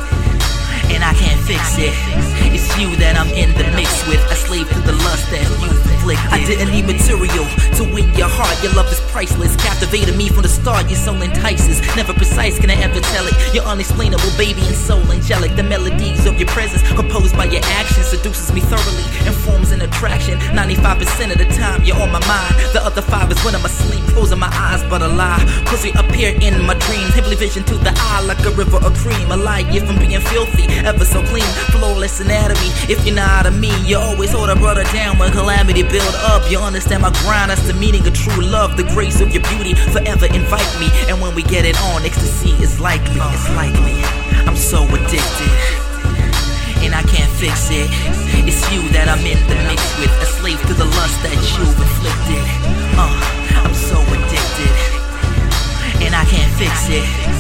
and I can't fix it. It's you that I'm in the mix with, a slave to the lust that you inflicted. I didn't need material to win your heart. Your love is priceless, captivated me from the start. Your soul entices, never precise, can I ever tell it? You're unexplainable, baby, and soul angelic. The melodies of your presence, composed by your actions, seduces me thoroughly and forms an attraction. ninety-five percent of the time you're on my mind. The other five is when I'm asleep, closing my eyes, but a lie, cause you appear in my dreams. Heavily vision to the eye like a river of cream. A light year from being filthy, ever so clean, flawless anatomy. If you're not a me, you always hold a brother down when calamity build up. You understand my grind, that's the meaning of true love. The grace of your beauty forever invite me, and when we get it on, ecstasy is likely. It's likely. I'm so addicted, and I can't fix it. It's you that I'm in the mix with, a slave to the lust that you've inflicted. Uh, I'm so addicted, and I can't fix it. It's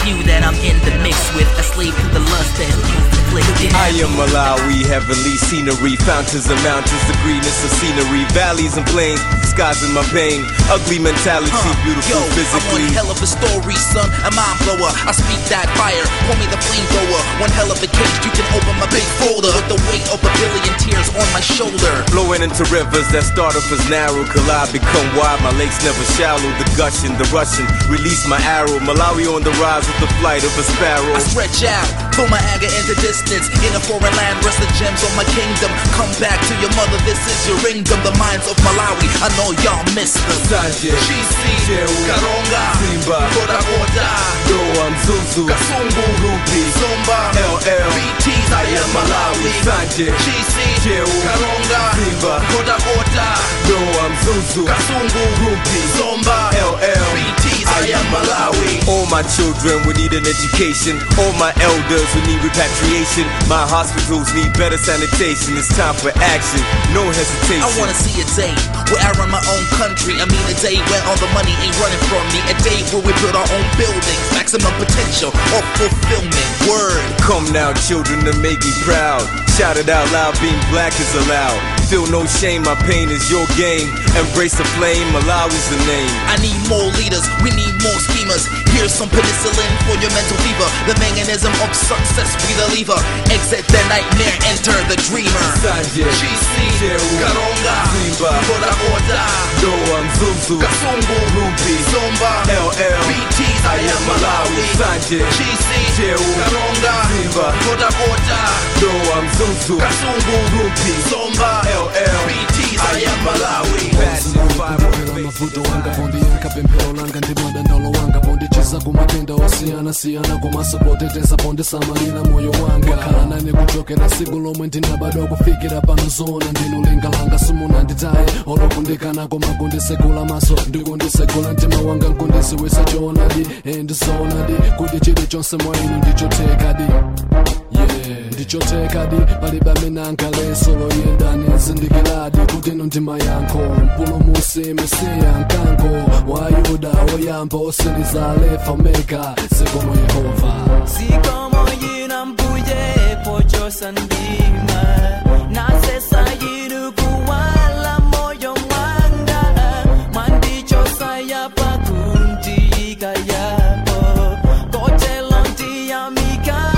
few that I'm in the mix with, a slave to the lust that's inflicted. I am Malawi, heavenly scenery, fountains and mountains, the greenness of scenery, valleys and plains, disguising my pain, ugly mentality, huh. beautiful Yo, physically. I'm one hell of a story, son, a mind blower. I speak that fire, call me the flamethrower. One hell of a case, you can open my big folder with the weight of a billion tears on my shoulder. Flowing into rivers that start off as narrow, collide, become wide. My lakes never shallow. The gushing, the rushing, release my arrow. Malawi on the rise with the flight of a sparrow. I stretch out, pull my anger into distance. In a foreign land, rest the gems of my kingdom. Come back to your mother, this is your ringdom. The minds of Malawi, I know y'all miss them. Sanje, Chisi, Karonga, Simba, Koda Koda, Doa Mzuzu, Kasungu, Ruby, Zomba, L L, B T's, I am Malawi. Sanje, Chisi, Karonga, Simba, Koda Koda, Doa Mzuzu, Kasungu, Ruby, Zomba, L L, B T's, I am Malawi. All my children would need an education. All my elders would need repatriation. My hospitals need better sanitation. It's time for action, no hesitation. I wanna see a day where I run my own country. I mean a day where all the money ain't running from me. A day where we build our own buildings, maximum potential or fulfillment. Word. Come now, children, to make me proud. Shout it out loud, being black is allowed. Feel no shame, my pain is your game. Embrace the flame, Malawi's the name. I need more leaders, we need more schemers. Here's some penicillin for your mental fever. The mechanism of success, we the lever. Exit the nightmare, enter the dreamer. Sanje, Chisi, Karonga, Simba, Koda Koda, Doa Mzuzu, Kasungu, Ruby, Zomba, L L, B T's, I am Malawi. Sanje, Chisi, Karonga, Simba, Koda Koda, Doa Mzuzu, Kasungu, Ruby, Zomba, L L, B T's, I am Malawi. mavuto wanga bondi yanka pemphero langa ndi madandaulo wanga bondi chiza kumatenda osiyana siyana kumasopoteteza bondi samalira moyo wanga khala nane kuchokera siku lomwe ndinabadwa kufikira pano zona ndinulinga langa simunanditaye olokundikana koma kundisekula maso ndikundisekula mtima wanga nkundisiwisa choonadi endizoonadi kuti chilichonse mwa inu ndichotekadi ndichotekadi palibe amene ankaleso loyendani zindikiradi kuti ino ndima yankho mpulumusi mesiya mkango wa yuda oyamba osiliza alefa omega zikomo yehova zikomo yina mbuye pochosa ndima nasesa yiru kuwala moyo mwanga mwandichosa yapa kundiika yapo kotelonti ya mika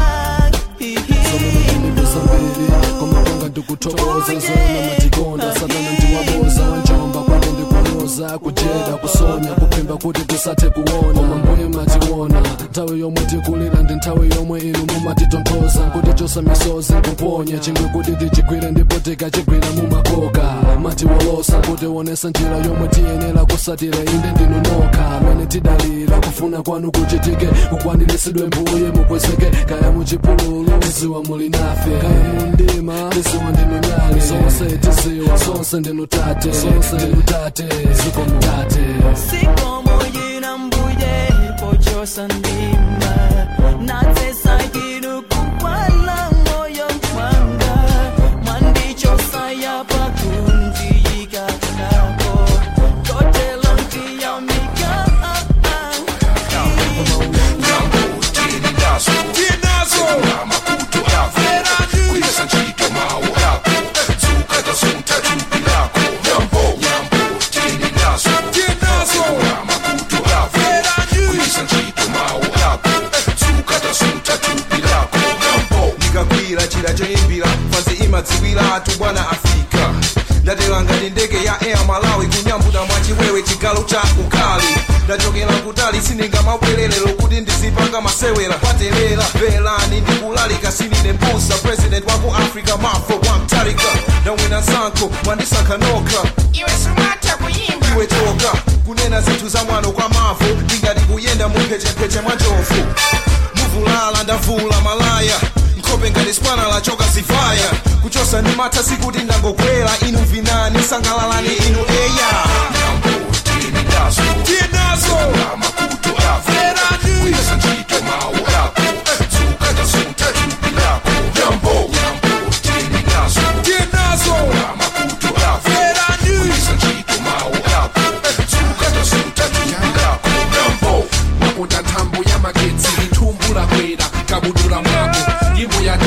ndikutokoza zona matikonda satana ndiwaboza wanjomba kwade ndikunoza kujeda kusonya kupimba kuti tisathe kuona koma mbuye mationa nthawi yomwe tikulira ndi nthawi yomwe inu mumatitontoza kuti chosa misozi kuponya chingwe kuti tichigwire ndipo tikachigwira mumakoka matiwolosa kuti wonesa njira yomwe tiyenera kusatira inde ndinu nokha mene tidalira kufuna kwanu kuchitike kukwaniritsidwe mbuye mukwezeke kaya muchipululu tiziwa muli nafe kaya mundima tiziwa ndinu nyali zonse tiziwa zonse ndinu tate zonse ndinu tate zikomo tate zikomo yina mbuye pochosa ndima natesa yiru kuwala moyo mwanga mwandichosa yapa kundiika yapo kotelonti ya mika choimbira fansi imadziwira atu bwana Afrika ndateranga ndi ndege ya Air Malawi kunyambuta mwachiwewe chigalo cha ukali ndachokera kutali sindingamabwererero kuti ndizipanga masewera kwaterera velani ndikulalika sinine mbusa president waku Africa mafo wamtalika ndawina sankho mwandisankha nokha iwe sumata kuyimba iwe toka kunena zinthu za mwano kwa mavu ndingati kuyenda mumphechempheche mwa njovu muvulala ndavula malaya nkhope ngati spana lachoka zivaya kuchosa ndi matha sikuti ndangokwera inu vinani sangalalani inu eya tienazo makuto averani kuisa njito mawu yako zuka sunta chupi lako nyambo tienazo tienazo makuto averani kuisa njito mawu yako zuka sunta chupi lako nyambo makuta ntambo ya magetsi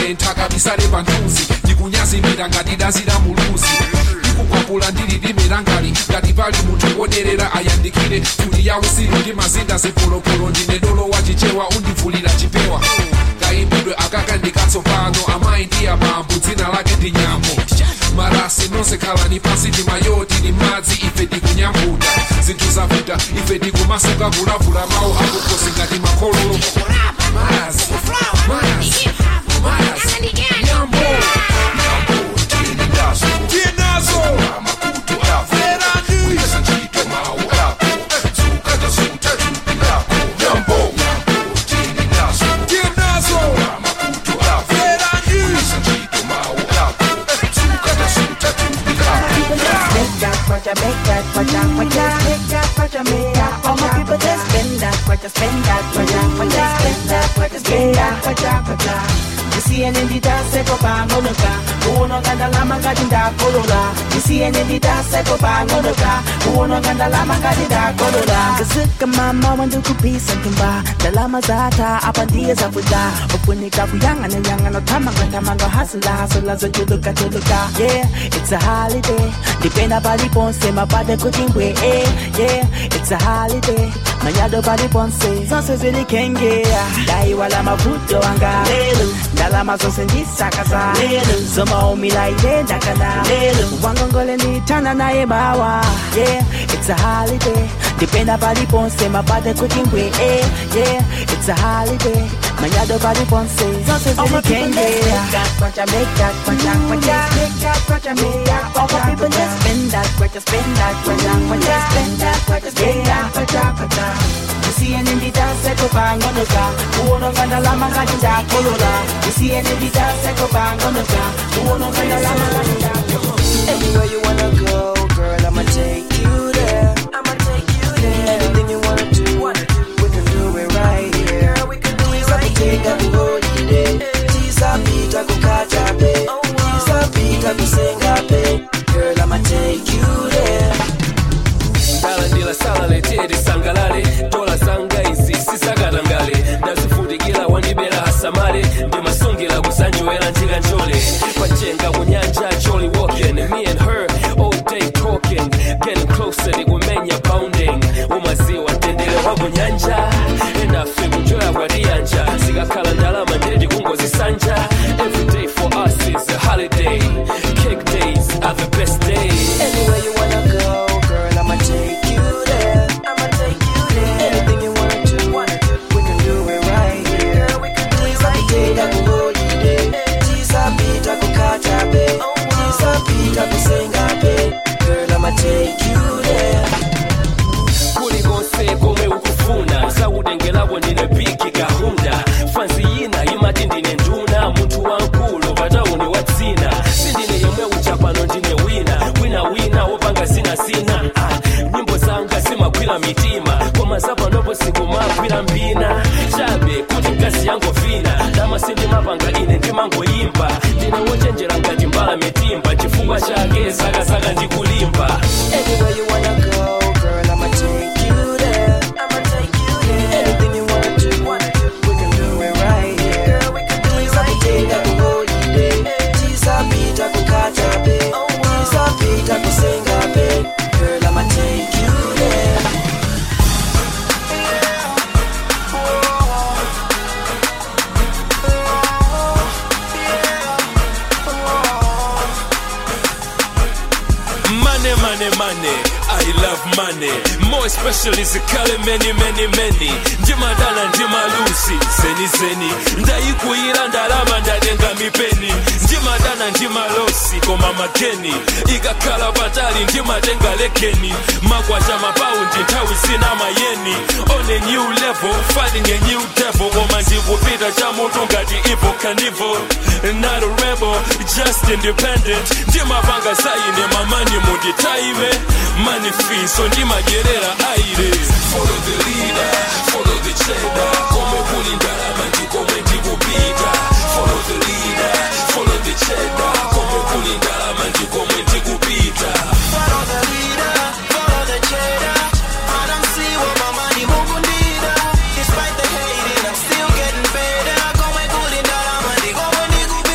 ndikale nthaka bisale panthuzi ndikunyazimira ngati dazira muluzi ndikukwapula ndili ndimirangali ngati pali munthu woderera ayandikire tuli ya usiku ndi mazinda zipolopolo ndine dolo wachichewa undivulira chipewa kaimbidwe akaka ndikatsopano amayi ndi abambo dzina lake ndi nyambo marasi nonse khalani pansi ndi mayoti ndi madzi ife tikunyambuta zinthu zavuta ife tikumasuka kulavula mawu akukosi ngati makhololo mazi mazi mazi nyambo nyambo tili nazo tili nazo amakutu ako verani yesa nchito mawu ako zuka suta chupi lako nyambo nyambo tili nazo tili nazo amakutu ako verani yesa nchito mawu ako zuka suta chupi lako Make that kwacha, make that kwacha, kwacha, make that kwacha, make that kwacha. All my people just spend that kwacha, spend that kwacha, kwacha, spend that kwacha, spend that kwacha, kwacha. Isiene nditase kopangoloka uno kandalama ngati ndakolola isiene nditase kopangoloka uno kandalama ngati ndakolola kasuka mama wandikupisa nkimba ndalama zata apa ndiye zakuda ufunika kuyangana yangana tamanga tamanga hasula hasula zochuluka chuluka yeah it's a holiday dipenda paliponse mapade kutimbwe eh yeah it's a holiday manyado paliponse zonse zilikengea dai wala mavuto anga lelo ndalama zonse ndisakaza lelo zoma umila ile ndakana lelo wangongole nditana naye mawa yeah it's a holiday dipenda paliponse mapade kutimbwe eh yeah it's a holiday manyado paliponse zonse zilikengea kwacha make that kwacha kwacha make that kwacha make that all the people just spend that kwacha spend that kwacha kwacha spend that kwacha spend that kwacha kwacha isiene nditase kopangoloka uno kandalama ngati ndakolola isiene nditase kopangoloka uno kandalama ngati ndakolola anywhere you wanna go girl I'ma take you there I'ma take you there anything you wanna do we can do it right here girl we can do it right here holiday tisa pita kukacha pe tisa pita kusenga pe girl I'ma take you there Dala ndila sala letedi sangalale Tola sanga isi sisagatangale Nazifutikila wandibela hasamale Ndimasungila kusanjuela njiga njole Pachenga kunyanja jolly walking Me and her all day talking Getting closer ndikumenya pounding Umaziwa tendele wabu nyanja Enafe kujoya kwa rianja Sigakala ndalama ndedi kungozi sanja Every day for us is a holiday Cake days are the best days anywhere you wanna go girl I'ma take you there I'ma take you there anything you wanna do we can do it right here girl we can do it right here holiday tisa pita kukacha pe tisa pita kusenga pe girl I'ma take you there kuli konse komwe ukufuna sakutengelapo ndine biki kahunda fansi yina imati ndine nduna munthu wankulu patauni watsina sindine yemwe uchapano ndine wina wina wina wopanga zina zina ah, nyimbo zanga simagwira mitima koma zapanopo sikumagwira mbina chabe kuti mkazi yango vina dama sindimapanga ine ndimangoyimba ndine wochenjera ngati mbala mitimba chifukwa chake sakasaka ndikulimba anywhere you wanna go girl I'ma take you there I'ma take you there anything you wanna do we can do it right here girl we can do it right here holiday tisa pita kukacha pe tisa pita kusenga pe girl I'ma take you there Money, money, money, I love money. More especially zikale many, many, many. Ndima dana, ndima lusi, zeni, zeni. Ndaikuira ndalama ndadenga mipeni. Ndima dana, ndima losi, koma makeni. Ikakala batali, ndima denga lekeni. Magwaja mapaundi, ntawi sina mayeni. On a new level, fighting a new devil. Koma ndikupita cha mutu ngati Evo Carnival. Not a rebel, just independent. Ndima panga saine, mamani mundi taime. Money free, so ndima gerera aire. Follow the leader, follow the cheddar. Kome kuli ndalama ndikome ndikupita. Follow the leader, follow the cheddar. Kome kuli ndalama ndikome ndikupita. follow the leader follow the cheddar I don't see what my money mukundira despite the hating I'm still getting better kome kuli ndalama ndikome ndikupita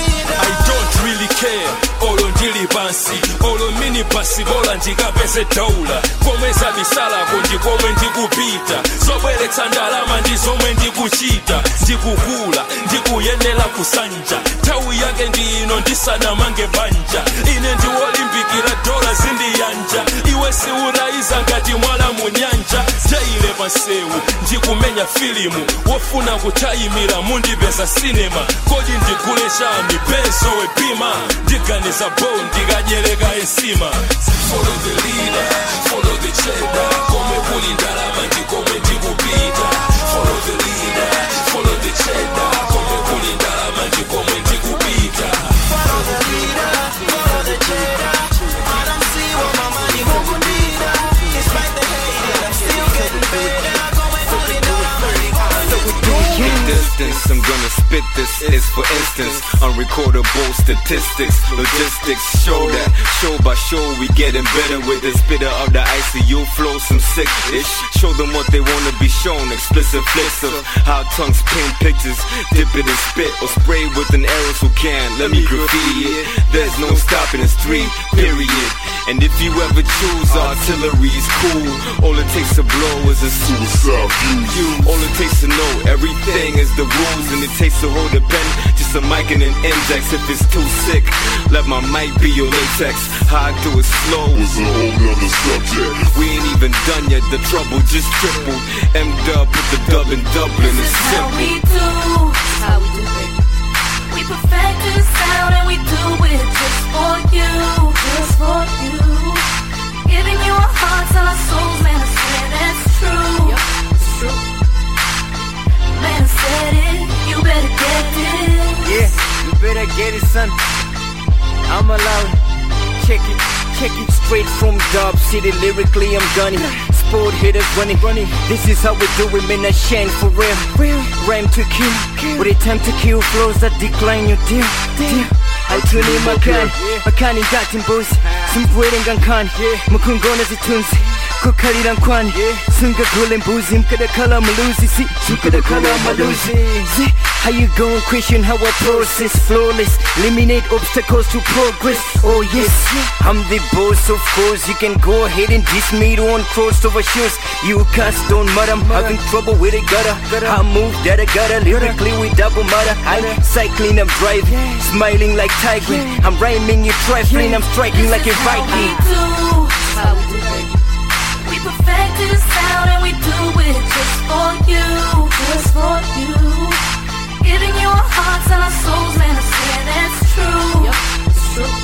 basibola ndikapeze dola komweza bisalako ndikomwe ndikupita zobweretsa ndalama ndizomwe ndikuchita ndikukula ndikuyenera kusanja nthawi yake ndino ndisanamange banja ine ndiwolimbikira dola zindiyanja iwe siuraiza ngati mwala munyanja jaile pasewu ndikumenya filimu wofuna kutayimira mundipeza sinema kodi ndigule chani benzo wepima ndiganiza bo ndikadyereka ensima follow the leader follow the cheddar komwe kuli ndalama ndikomwe ndikupita follow the leader follow the cheddar komwe kuli ndalama ndikomwe ndikupita follow the leader follow the cheddar I don't see what my money won't need despite the hate I'm still getting better komwe kuli ndalama distance, I'm gonna spit this is for instance unrecordable statistics, logistics show that show by show we getting better with the spitter of the I C U flow some sick-ish show them what they wanna be shown explicit flicks of how tongues paint pictures dip it in spit or spray with an arrow who can let me graffiti it there's no stopping it's three period and if you ever choose artillery's cool all it takes to blow is a suicide view all it takes to know everything is the rules and it takes to hold a pen just a mic and an index if it's too sick let my mic be your latex how I do it slow is a whole nother subject we ain't even done yet the trouble just tripled M-dub with the dub and Dublin is simple how we do how we do it we perfect the sound and we do it just for you just for you giving you our hearts and our souls man I swear that's true yep, it's true man said it, you better get this. Yeah, you better get it, son. I'm allowed. Check it, check it straight from Dub City. Lyrically, I'm gunning. Sport hitters running, running. This is how we do it, man. I shine for real. real. Rhyme to kill, kill. With a time to kill flows that decline your deal. deal. I tune in my can, my can in got in booze. Some waiting on can, Mukungona tunes. Kukariran kwan, sunga gulin boozy, mkada kala maluzi, si, mkada kala maluzi. How you gon' question how I process flawless, eliminate obstacles to progress. Oh yes, I'm the boss of course. You can go ahead and diss me to on crossover shoes. You cast don't matter, I'm having trouble with a gutter. I move that I gotta lyrically with double matter. I'm cycling, I'm driving, smiling like tiger. I'm rhyming, you trifling, I'm striking like a Viking. How we do it. We perfect the sound and we do it just for you, just for you. Giving you our hearts and our souls, man, I swear that's true. Yep, it's true.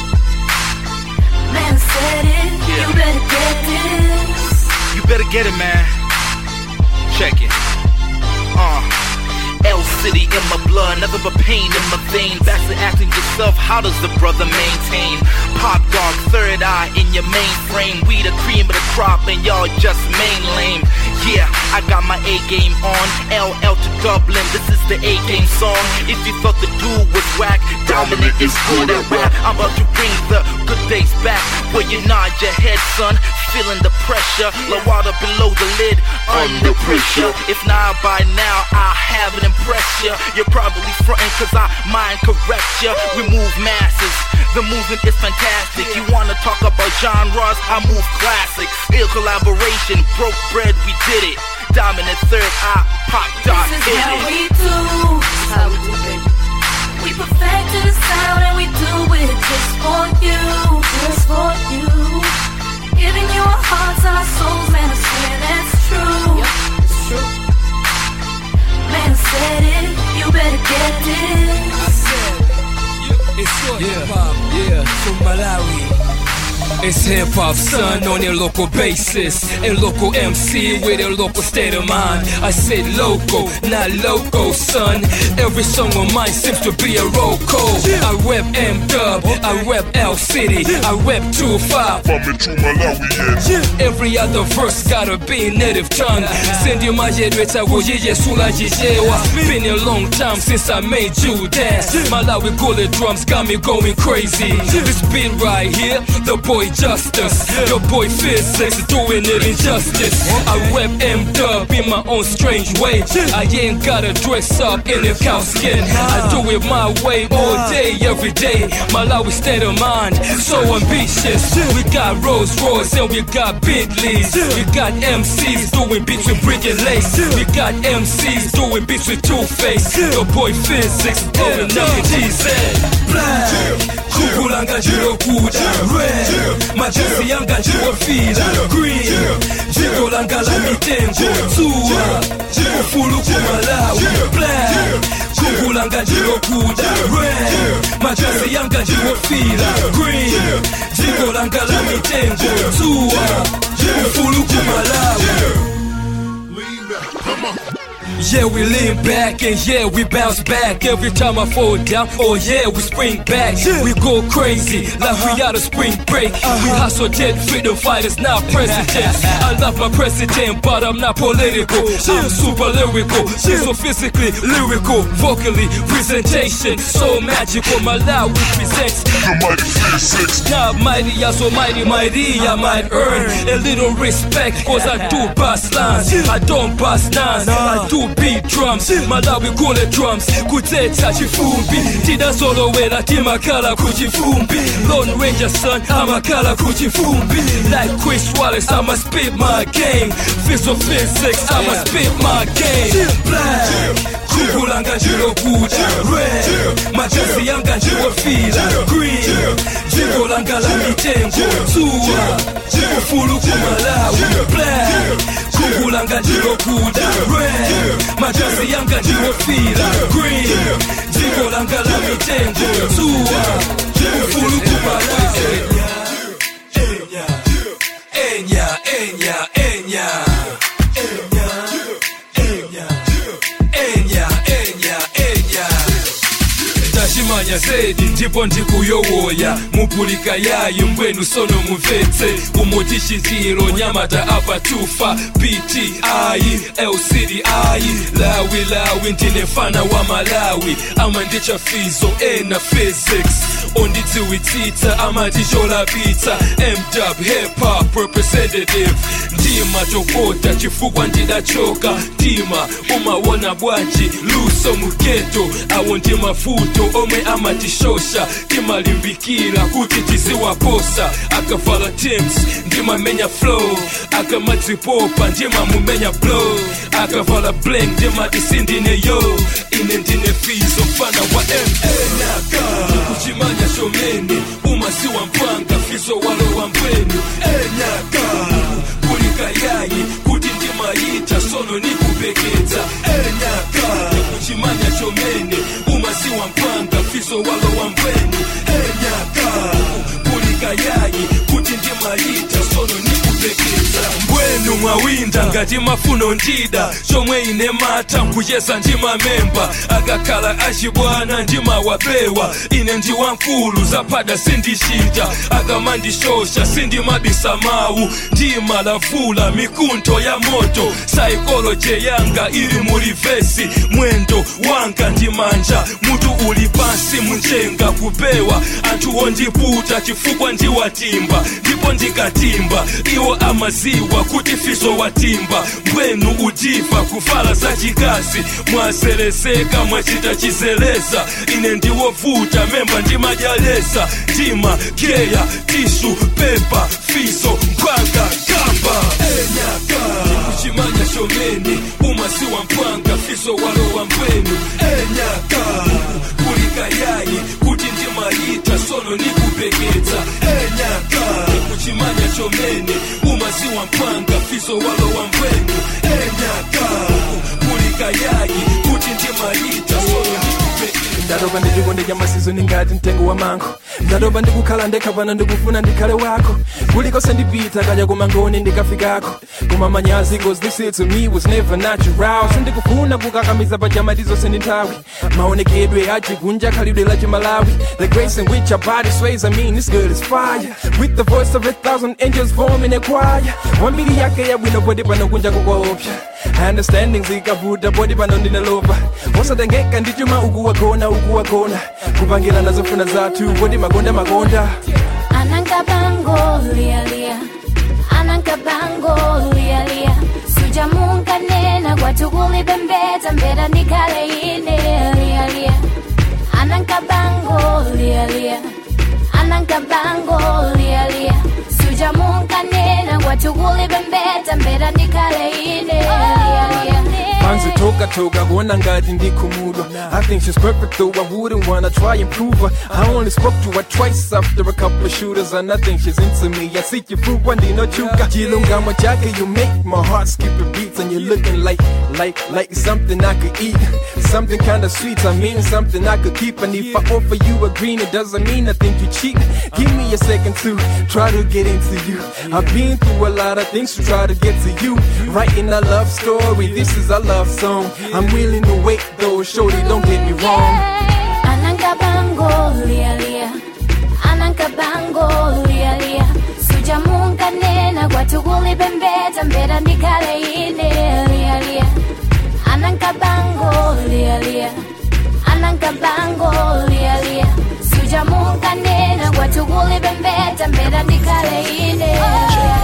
Man said it, yeah. You better get this. You better get it, man. Check it. Uh. L City in my blood, nothing but pain in my veins. Back to acting yourself, how does the brother maintain? Pop dog, third eye in your mainframe. We the cream of the crop and y'all just main lame. Yeah, I got my A game on. L L to Dublin, this is the A game song. If you thought the dude was whack, Dominic is good at rap. I'm about to bring the good days back, where you nod your head, son, feeling the pressure. Low water below the lid, under pressure. If not by now, I have an impression. You're probably frontin' cause I mind correct ya. We move masses, the movement is fantastic. You wanna talk about genres, I move classics. Ill collaboration, broke bread, we did it. Dominant third eye, pop dot, hit it. This is how we do, how we do it. We perfect the sound and we do it just for you, just for you. Giving you our hearts and our souls, man, I swear that's true. Yep, it's true. Man said it, you better get this. I said, it's your yeah, hip-hop, yeah, from Malawi. It's hip-hop, son, on your local basis. And local M C with a local state of mind. I said local, not loco, son. Every song of mine seems to be a roll call. I rep M-Dub, I rep L City, I rep two five. Every other verse gotta be native tongue. Send you my head, it's a woyeye sula jijewa. Been a long time since I made you dance. Malawi gullet drums got me going crazy. This beat right here, the boy boy Justice, your boy Physics, doing it injustice. I rep M-Dub in my own strange way. I ain't gotta dress up in a cow skin. I do it my way all day, every day. Malawi state of mind, so ambitious. We got Rolls Royce and we got Bentleys. We got M Cs doing beats with Brick and Lace. We got M Cs doing beats with Two-Face. Your boy Physics, doing nothing G Z. Black, kukulanga jiro kuja. Red, majesi yanga jiro fila. Green, jiro langa la mitengo. Tua, jiro fulu kumalawi. Black, kukulanga jiro kuja. Red, majesi yanga jiro fila. Green, jiro langa la mitengo. Tua, jiro fulu kumalawi. Yeah, we lean back and yeah, we bounce back. Every time I fall down, oh yeah, we spring back. We go crazy like we out of spring break. We hustle dead freedom fighters, not presidents. I love my president, but I'm not political. I'm super lyrical, so physically lyrical, vocally presentation so magical. My loud represents the mighty physics. Not mighty, I so mighty, mighty. I might earn a little respect, cause I do bust lines. I don't bust nines, I do beat drums. Malawi kule drums kuteta chifumbi tidazolowela timakala kuchifumbi. Lone Ranger son amakala kuchifumbi. Like Chris Wallace I'ma spit my game. Physical physics I'ma spit my game. Black kukulanga jiro kuja. Red majesi yanga jiro fila. Green jiro langa la mitengo. Tua jiro fulu kumalawi. Black kukulanga jiro kuja. Red majasi yanga jiro fila. Green jiro langa la mitengo. Tua jiro fulu kumalawi. Enya, enya, enya, enya, enya, enya, enya, enya, enya. Tashimanya zedi ndipo ndikuyowoya mupulika yayo mbwenu sono muvetse umutishitiro nyamata apa tufa P T I L C D I lawi lawi ndine fana wa Malawi ama ndicha fizo ena physics onditiwitita ama tishola pizza M-Dub hip hop representative ndima chokota chifukwa ndidachoka ndima umawona bwanji luso muketo awo ndima futo omwe amatishosha timalimbikira kuti tiziwaposa akavala Tims ndima menya flow akamadzipopa ndima mumenya blow akavala bling ndima tisindine yo ine ndine fizo fana wa M Enyaka kuchimanya shomeni umasiwa mpanga fizo walo wa mbwenu Enyaka kulika yayi kuti ndima ita sono nikupeketa Enyaka kuchimanya shomeni umasiwa mpanga fizo walo wa mbwenu Enyaka kulika yayi kuti ndima ita sono nikupeketa mbwenu mwawinda ngati mafuno ndida chomwe ine mata nkuyesa ndima memba akakhala achibwana ndima wapewa ine ndi wankulu zapada sindishita akamandishosha sindimabisa mawu ndima lavula mikunto ya moto psychology yanga ili mulivesi mwendo wanga ndimanja mutu uli pansi munjenga kupewa anthu ondiputa chifukwa ndiwatimba ndipo ndikatimba iwo amaziwa kuti fizo watimba mbwenu udiva kuvala za chikazi mwazelezeka mwachita chizeleza ine ndiwovuta memba ndimajaleza ndima keya tishu pepa fizo mpanga kamba Enyaka kuchimanya shomeni umasiwa mpanga fizo walo wa mbwenu Enyaka kulika yayi kuti ndima ita sono nikupeketa Enyaka kuchimanya shomeni umasiwa mpanga fizo walo wa mbwenu Enyaka kulika yayi kuti ndima ita sono nikupeketa. Ndadoba ndijiko ndija masizo ningati mtengo wa mango ndadoba ndikukhala ndekhavana ndikufuna ndikhale wako kulikose ndipita kaja kumangoni ndikafikako kumamanyazi cause this it to me was never natural sindikufuna kukakamiza pajama tizose ndi nthawi maonekedwe achikunja khalidwe la chimalawi the grace in which our body sways I mean this girl is fire with the voice of a thousand angels forming a choir wambiri yake yabwino poti pano kunja kukoopsha understanding zikavuta poti pano ndinalova wasatengeka ndichuma ukuwagona ukuwagona kupangira nazofuna zathu poti makonda makonda Ananga Anankabango lia lia, Anankabango lia lia. Sujamunga nena kwa tukuli bembeta mbera nikale ine lia lia. Anankabango lia lia, Anankabango lia lia. Sujamunga nena kwa tukuli bembeta mbera nikale ine lia lia. Manzi toka toka, gona ngati ndikumudwa. I think she's perfect though, I wouldn't wanna try and prove her. I only spoke to her twice after a couple of shooters, and I think she's into me. I see you through one day, no chuka. Chilunga jacka, you make my heart skip a beat, and you're looking like, like, like something I could eat. Something kinda sweet, I mean something I could keep. And if I offer you a green, it doesn't mean I think you cheap. Give me a second to try to get into you. I've been through a lot of things to try to get to you. Writing a love story, this is a love song. I'm willing to wait though, shorty, don't get me wrong. Anankabango lia lia, Anankabango lia lia. Sujamunga nena kwa tukuli bembeta mbera nikale ine lia lia. Anankabango lia lia, Anankabango lia lia. Sujamunga nena kwa tukuli bembeta mbera nikale ine lia lia.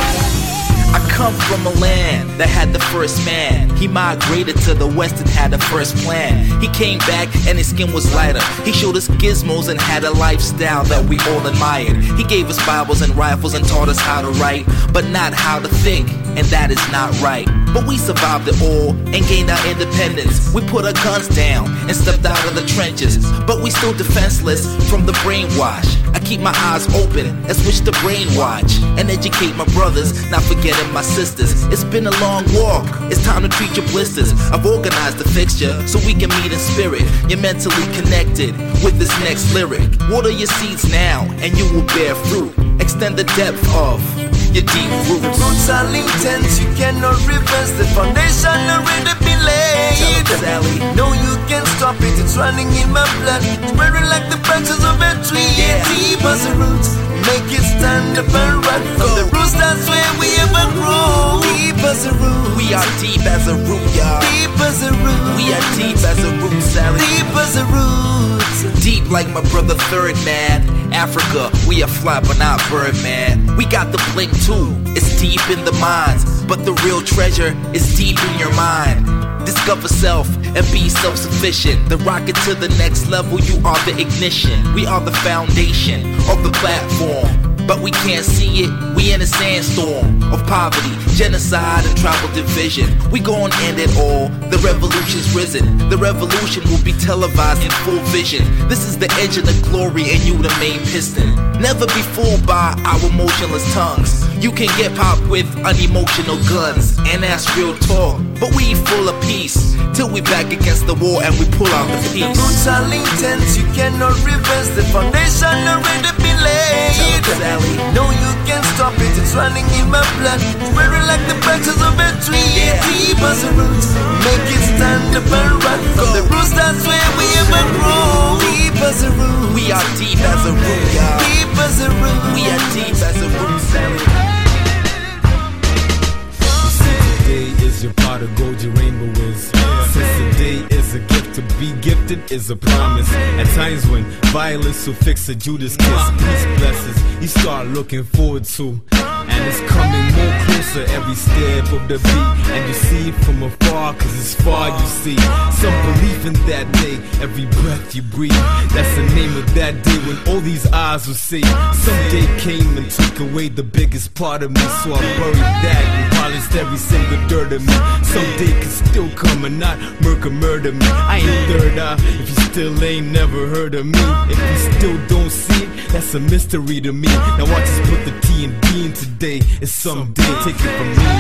I come from a land that had the first man. He migrated to the west and had the first plan. He came back and his skin was lighter. He showed us gizmos and had a lifestyle that we all admired. He gave us Bibles and rifles and taught us how to write, but not how to think, and that is not right. But we survived it all and gained our independence. We put our guns down and stepped out of the trenches, but we still defenseless from the brainwash. I keep my eyes open and switch to brainwatch and educate my brothers, not forgetting my sisters. It's been a long walk, it's time to treat your blisters. I've organized the fixture so we can meet in spirit. You're mentally connected with this next lyric. Water your seeds now and you will bear fruit. Extend the depth of your deep roots. The roots are intense, you cannot reverse. The foundation already been laid. Sally. No, you can't stop it, it's running in my blood. Spreading like the branches of a tree. Yeah. Deep as the roots, make it stand up and run. From the roots, that's where we ever grow. Deep as the roots, we are deep as a root, y'all. Deep as the roots, we are deep as a root, Sally. Deep as the roots, deep like my brother Third Man. Africa, we are fly but not bird, man. We got the blink too, it's deep in the minds, but the real treasure is deep in your mind. Discover self and be self-sufficient. The rocket to the next level, you are the ignition. We are the foundation of the platform, but we can't see it. We in a sandstorm of poverty, genocide, and tribal division. We gon' end it all. The revolution's risen. The revolution will be televised in full vision. This is the engine of glory, and you the main piston. Never be fooled by our motionless tongues. You can get popped with unemotional guns, and that's real talk. But we full of peace till we back against the wall and we pull out the piece. The roots are intense, you cannot reverse. The foundation already been laid. Sally. No, you can't stop it, it's running in my blood. Spreading like the branches of a tree. Yeah. Deep as the roots, make it stand up and run. From the roots, that's where we ever grow. Deep as the roots, we are deep as a root, y'all. Deep as the roots, we are deep as a root, Sally. Today is your pot of gold, your rainbow is. Since today is a gift, to be gifted is a promise. At times when violence will fix a Judas kiss, peace blesses, you start looking forward to. And it's coming more closer every step of the beat. And you see it from afar, cause it's far you see. Some belief in that day, every breath you breathe. That's the name of that day when all these eyes will see. Some day came and took away the biggest part of me, so I buried that and polished every single dirt of me. Someday can still come and not murder murder me. I ain't third eye if you still ain't never heard of me. If you still don't see it, that's a mystery to me. Now I just put the T and D in today. It's someday, take it from me.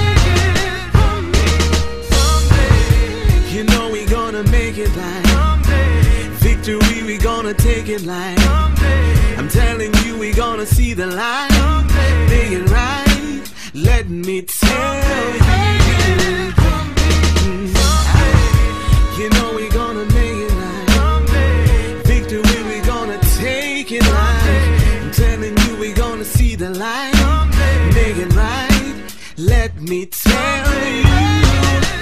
You know we gonna make it like victory, we gonna take it like. I'm telling you we gonna see the light. Make it right, let me tell you. You know we gonna make it like victory, we gonna take it like. I'm telling you we gonna see the light. Make it right, let me tell you.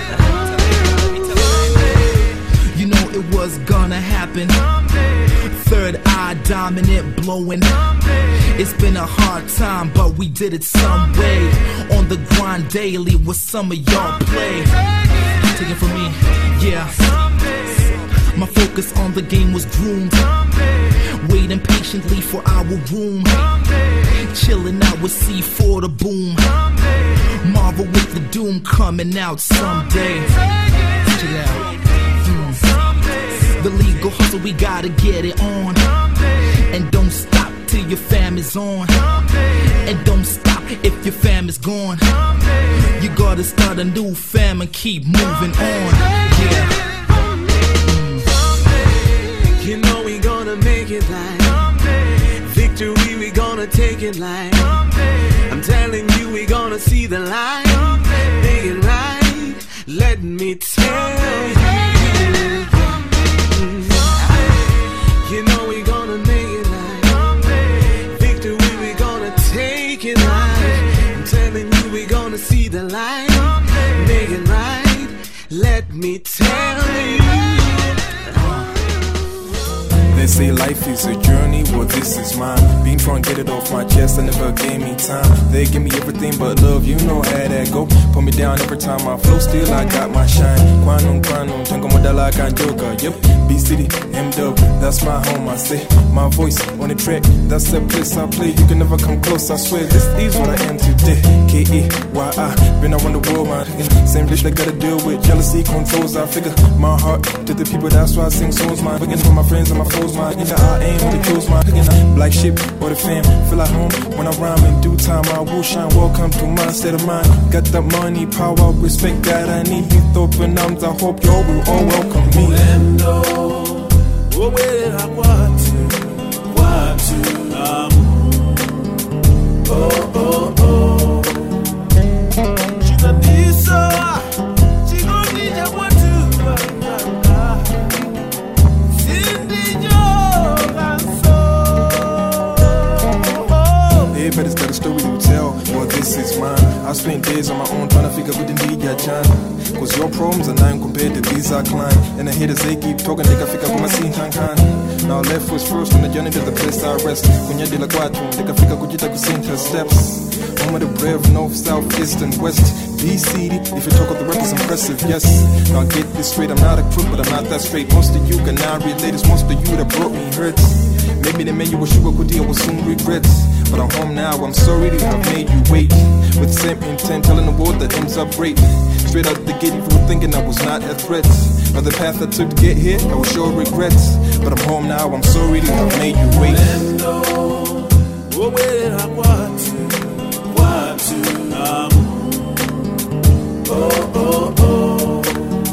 You know it was gonna happen. third eye dominant, blowing. It's been a hard time, but we did it some way. On the grind daily, what some of y'all play. Take it from me, yeah. My focus on the game was groomed. Waiting patiently for our room. Chilling out with C four to boom. Marvel with the doom coming out someday. Check it out. Mm. The legal hustle, we gotta get it on. And don't stop till your fam is on. And don't stop if your fam is gone. You gotta start a new fam and keep moving on. Yeah. You know we gonna make it like victory, we gonna take it like I'm telling you, we gonna see the light. Make it right, let me tell you. You know we gonna make it like victory, we gonna take it like I'm telling you, we gonna see the light. Make it right, let me tell you. They say life is a journey, well this is mine. Been trying to get it off my chest, I never gave me time. They give me everything but love, you know how that go. Put me down every time I flow, still I got my shine. Kwanum, kwanum, tango modala kanjoka. Yep, B-City, M-Dub, that's my home, I say. My voice on the track, that's the place I play. You can never come close, I swear, this is what I am today. K E Y I, been around the world, man. Same bitch that gotta deal with jealousy, controls, I figure. My heart to the people, that's why I sing songs, man. Looking for my friends and my foes, my in the I aim when it kills my black sheep or the fam. Feel like home when I rhyme in due time. I will shine. Welcome to my state of mind. Got that money, power, respect that I need. Be open arms. I hope y'all will all welcome me. Oh oh oh. Everybody's got a story to tell, well this is mine. I spent days on my own trying to figure we didn't need your John. Cause your problems are nine compared to these I climb. And the haters they keep talking, they can figure out my scene tankan. Now left was first on the journey to the place I rest. Kunya de la quattro, they can figure kujita kusinta steps. Home of the brave, north, south, east and west. B-C D, if you talk of the rappers impressive, yes. Now get this straight, I'm not a crook, but I'm not that straight. Most of you can now relate, it's most of you that brought me hurts. Maybe the menu was sugar could deal with some regrets. But I'm home now, I'm sorry to have made you wait. With the same intent, telling the world that M's up great. Straight out the gate, if you were thinking I was not a threat. Now the path I took to get here, I will show regrets. But I'm home now, I'm sorry to have made you wait. Oh, oh, oh.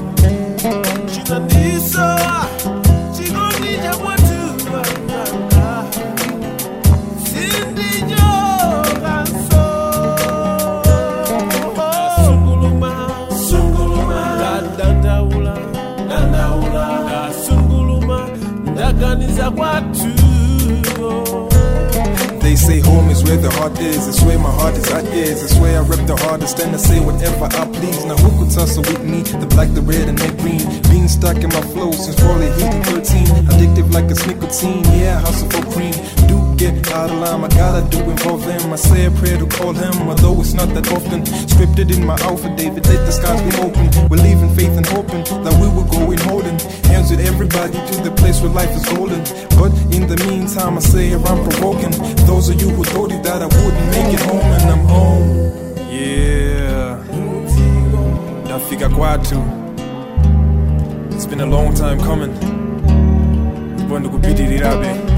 They say home is where the heart is. It's where my heart is at is. It's where I rep the hardest and I say whatever I please. Now who could tussle with me? The black, the red and the green. Being stuck in my flow since probably hitting thirteen. Addictive like it's nicotine. Yeah, hustle for cream. Do get out of line, I gotta do involve them. I say a prayer to call him, although it's not that often. Scripted in my alpha, David, let the skies be open. We're leaving faith and hoping that we will go in holding hands with everybody to the place where life is golden. But in the meantime, I say I'm provoking those of you who told you that I wouldn't make it home, and I'm home. Yeah, Dafika Kwatu. It's been a long time coming. Kwanda kupitira be.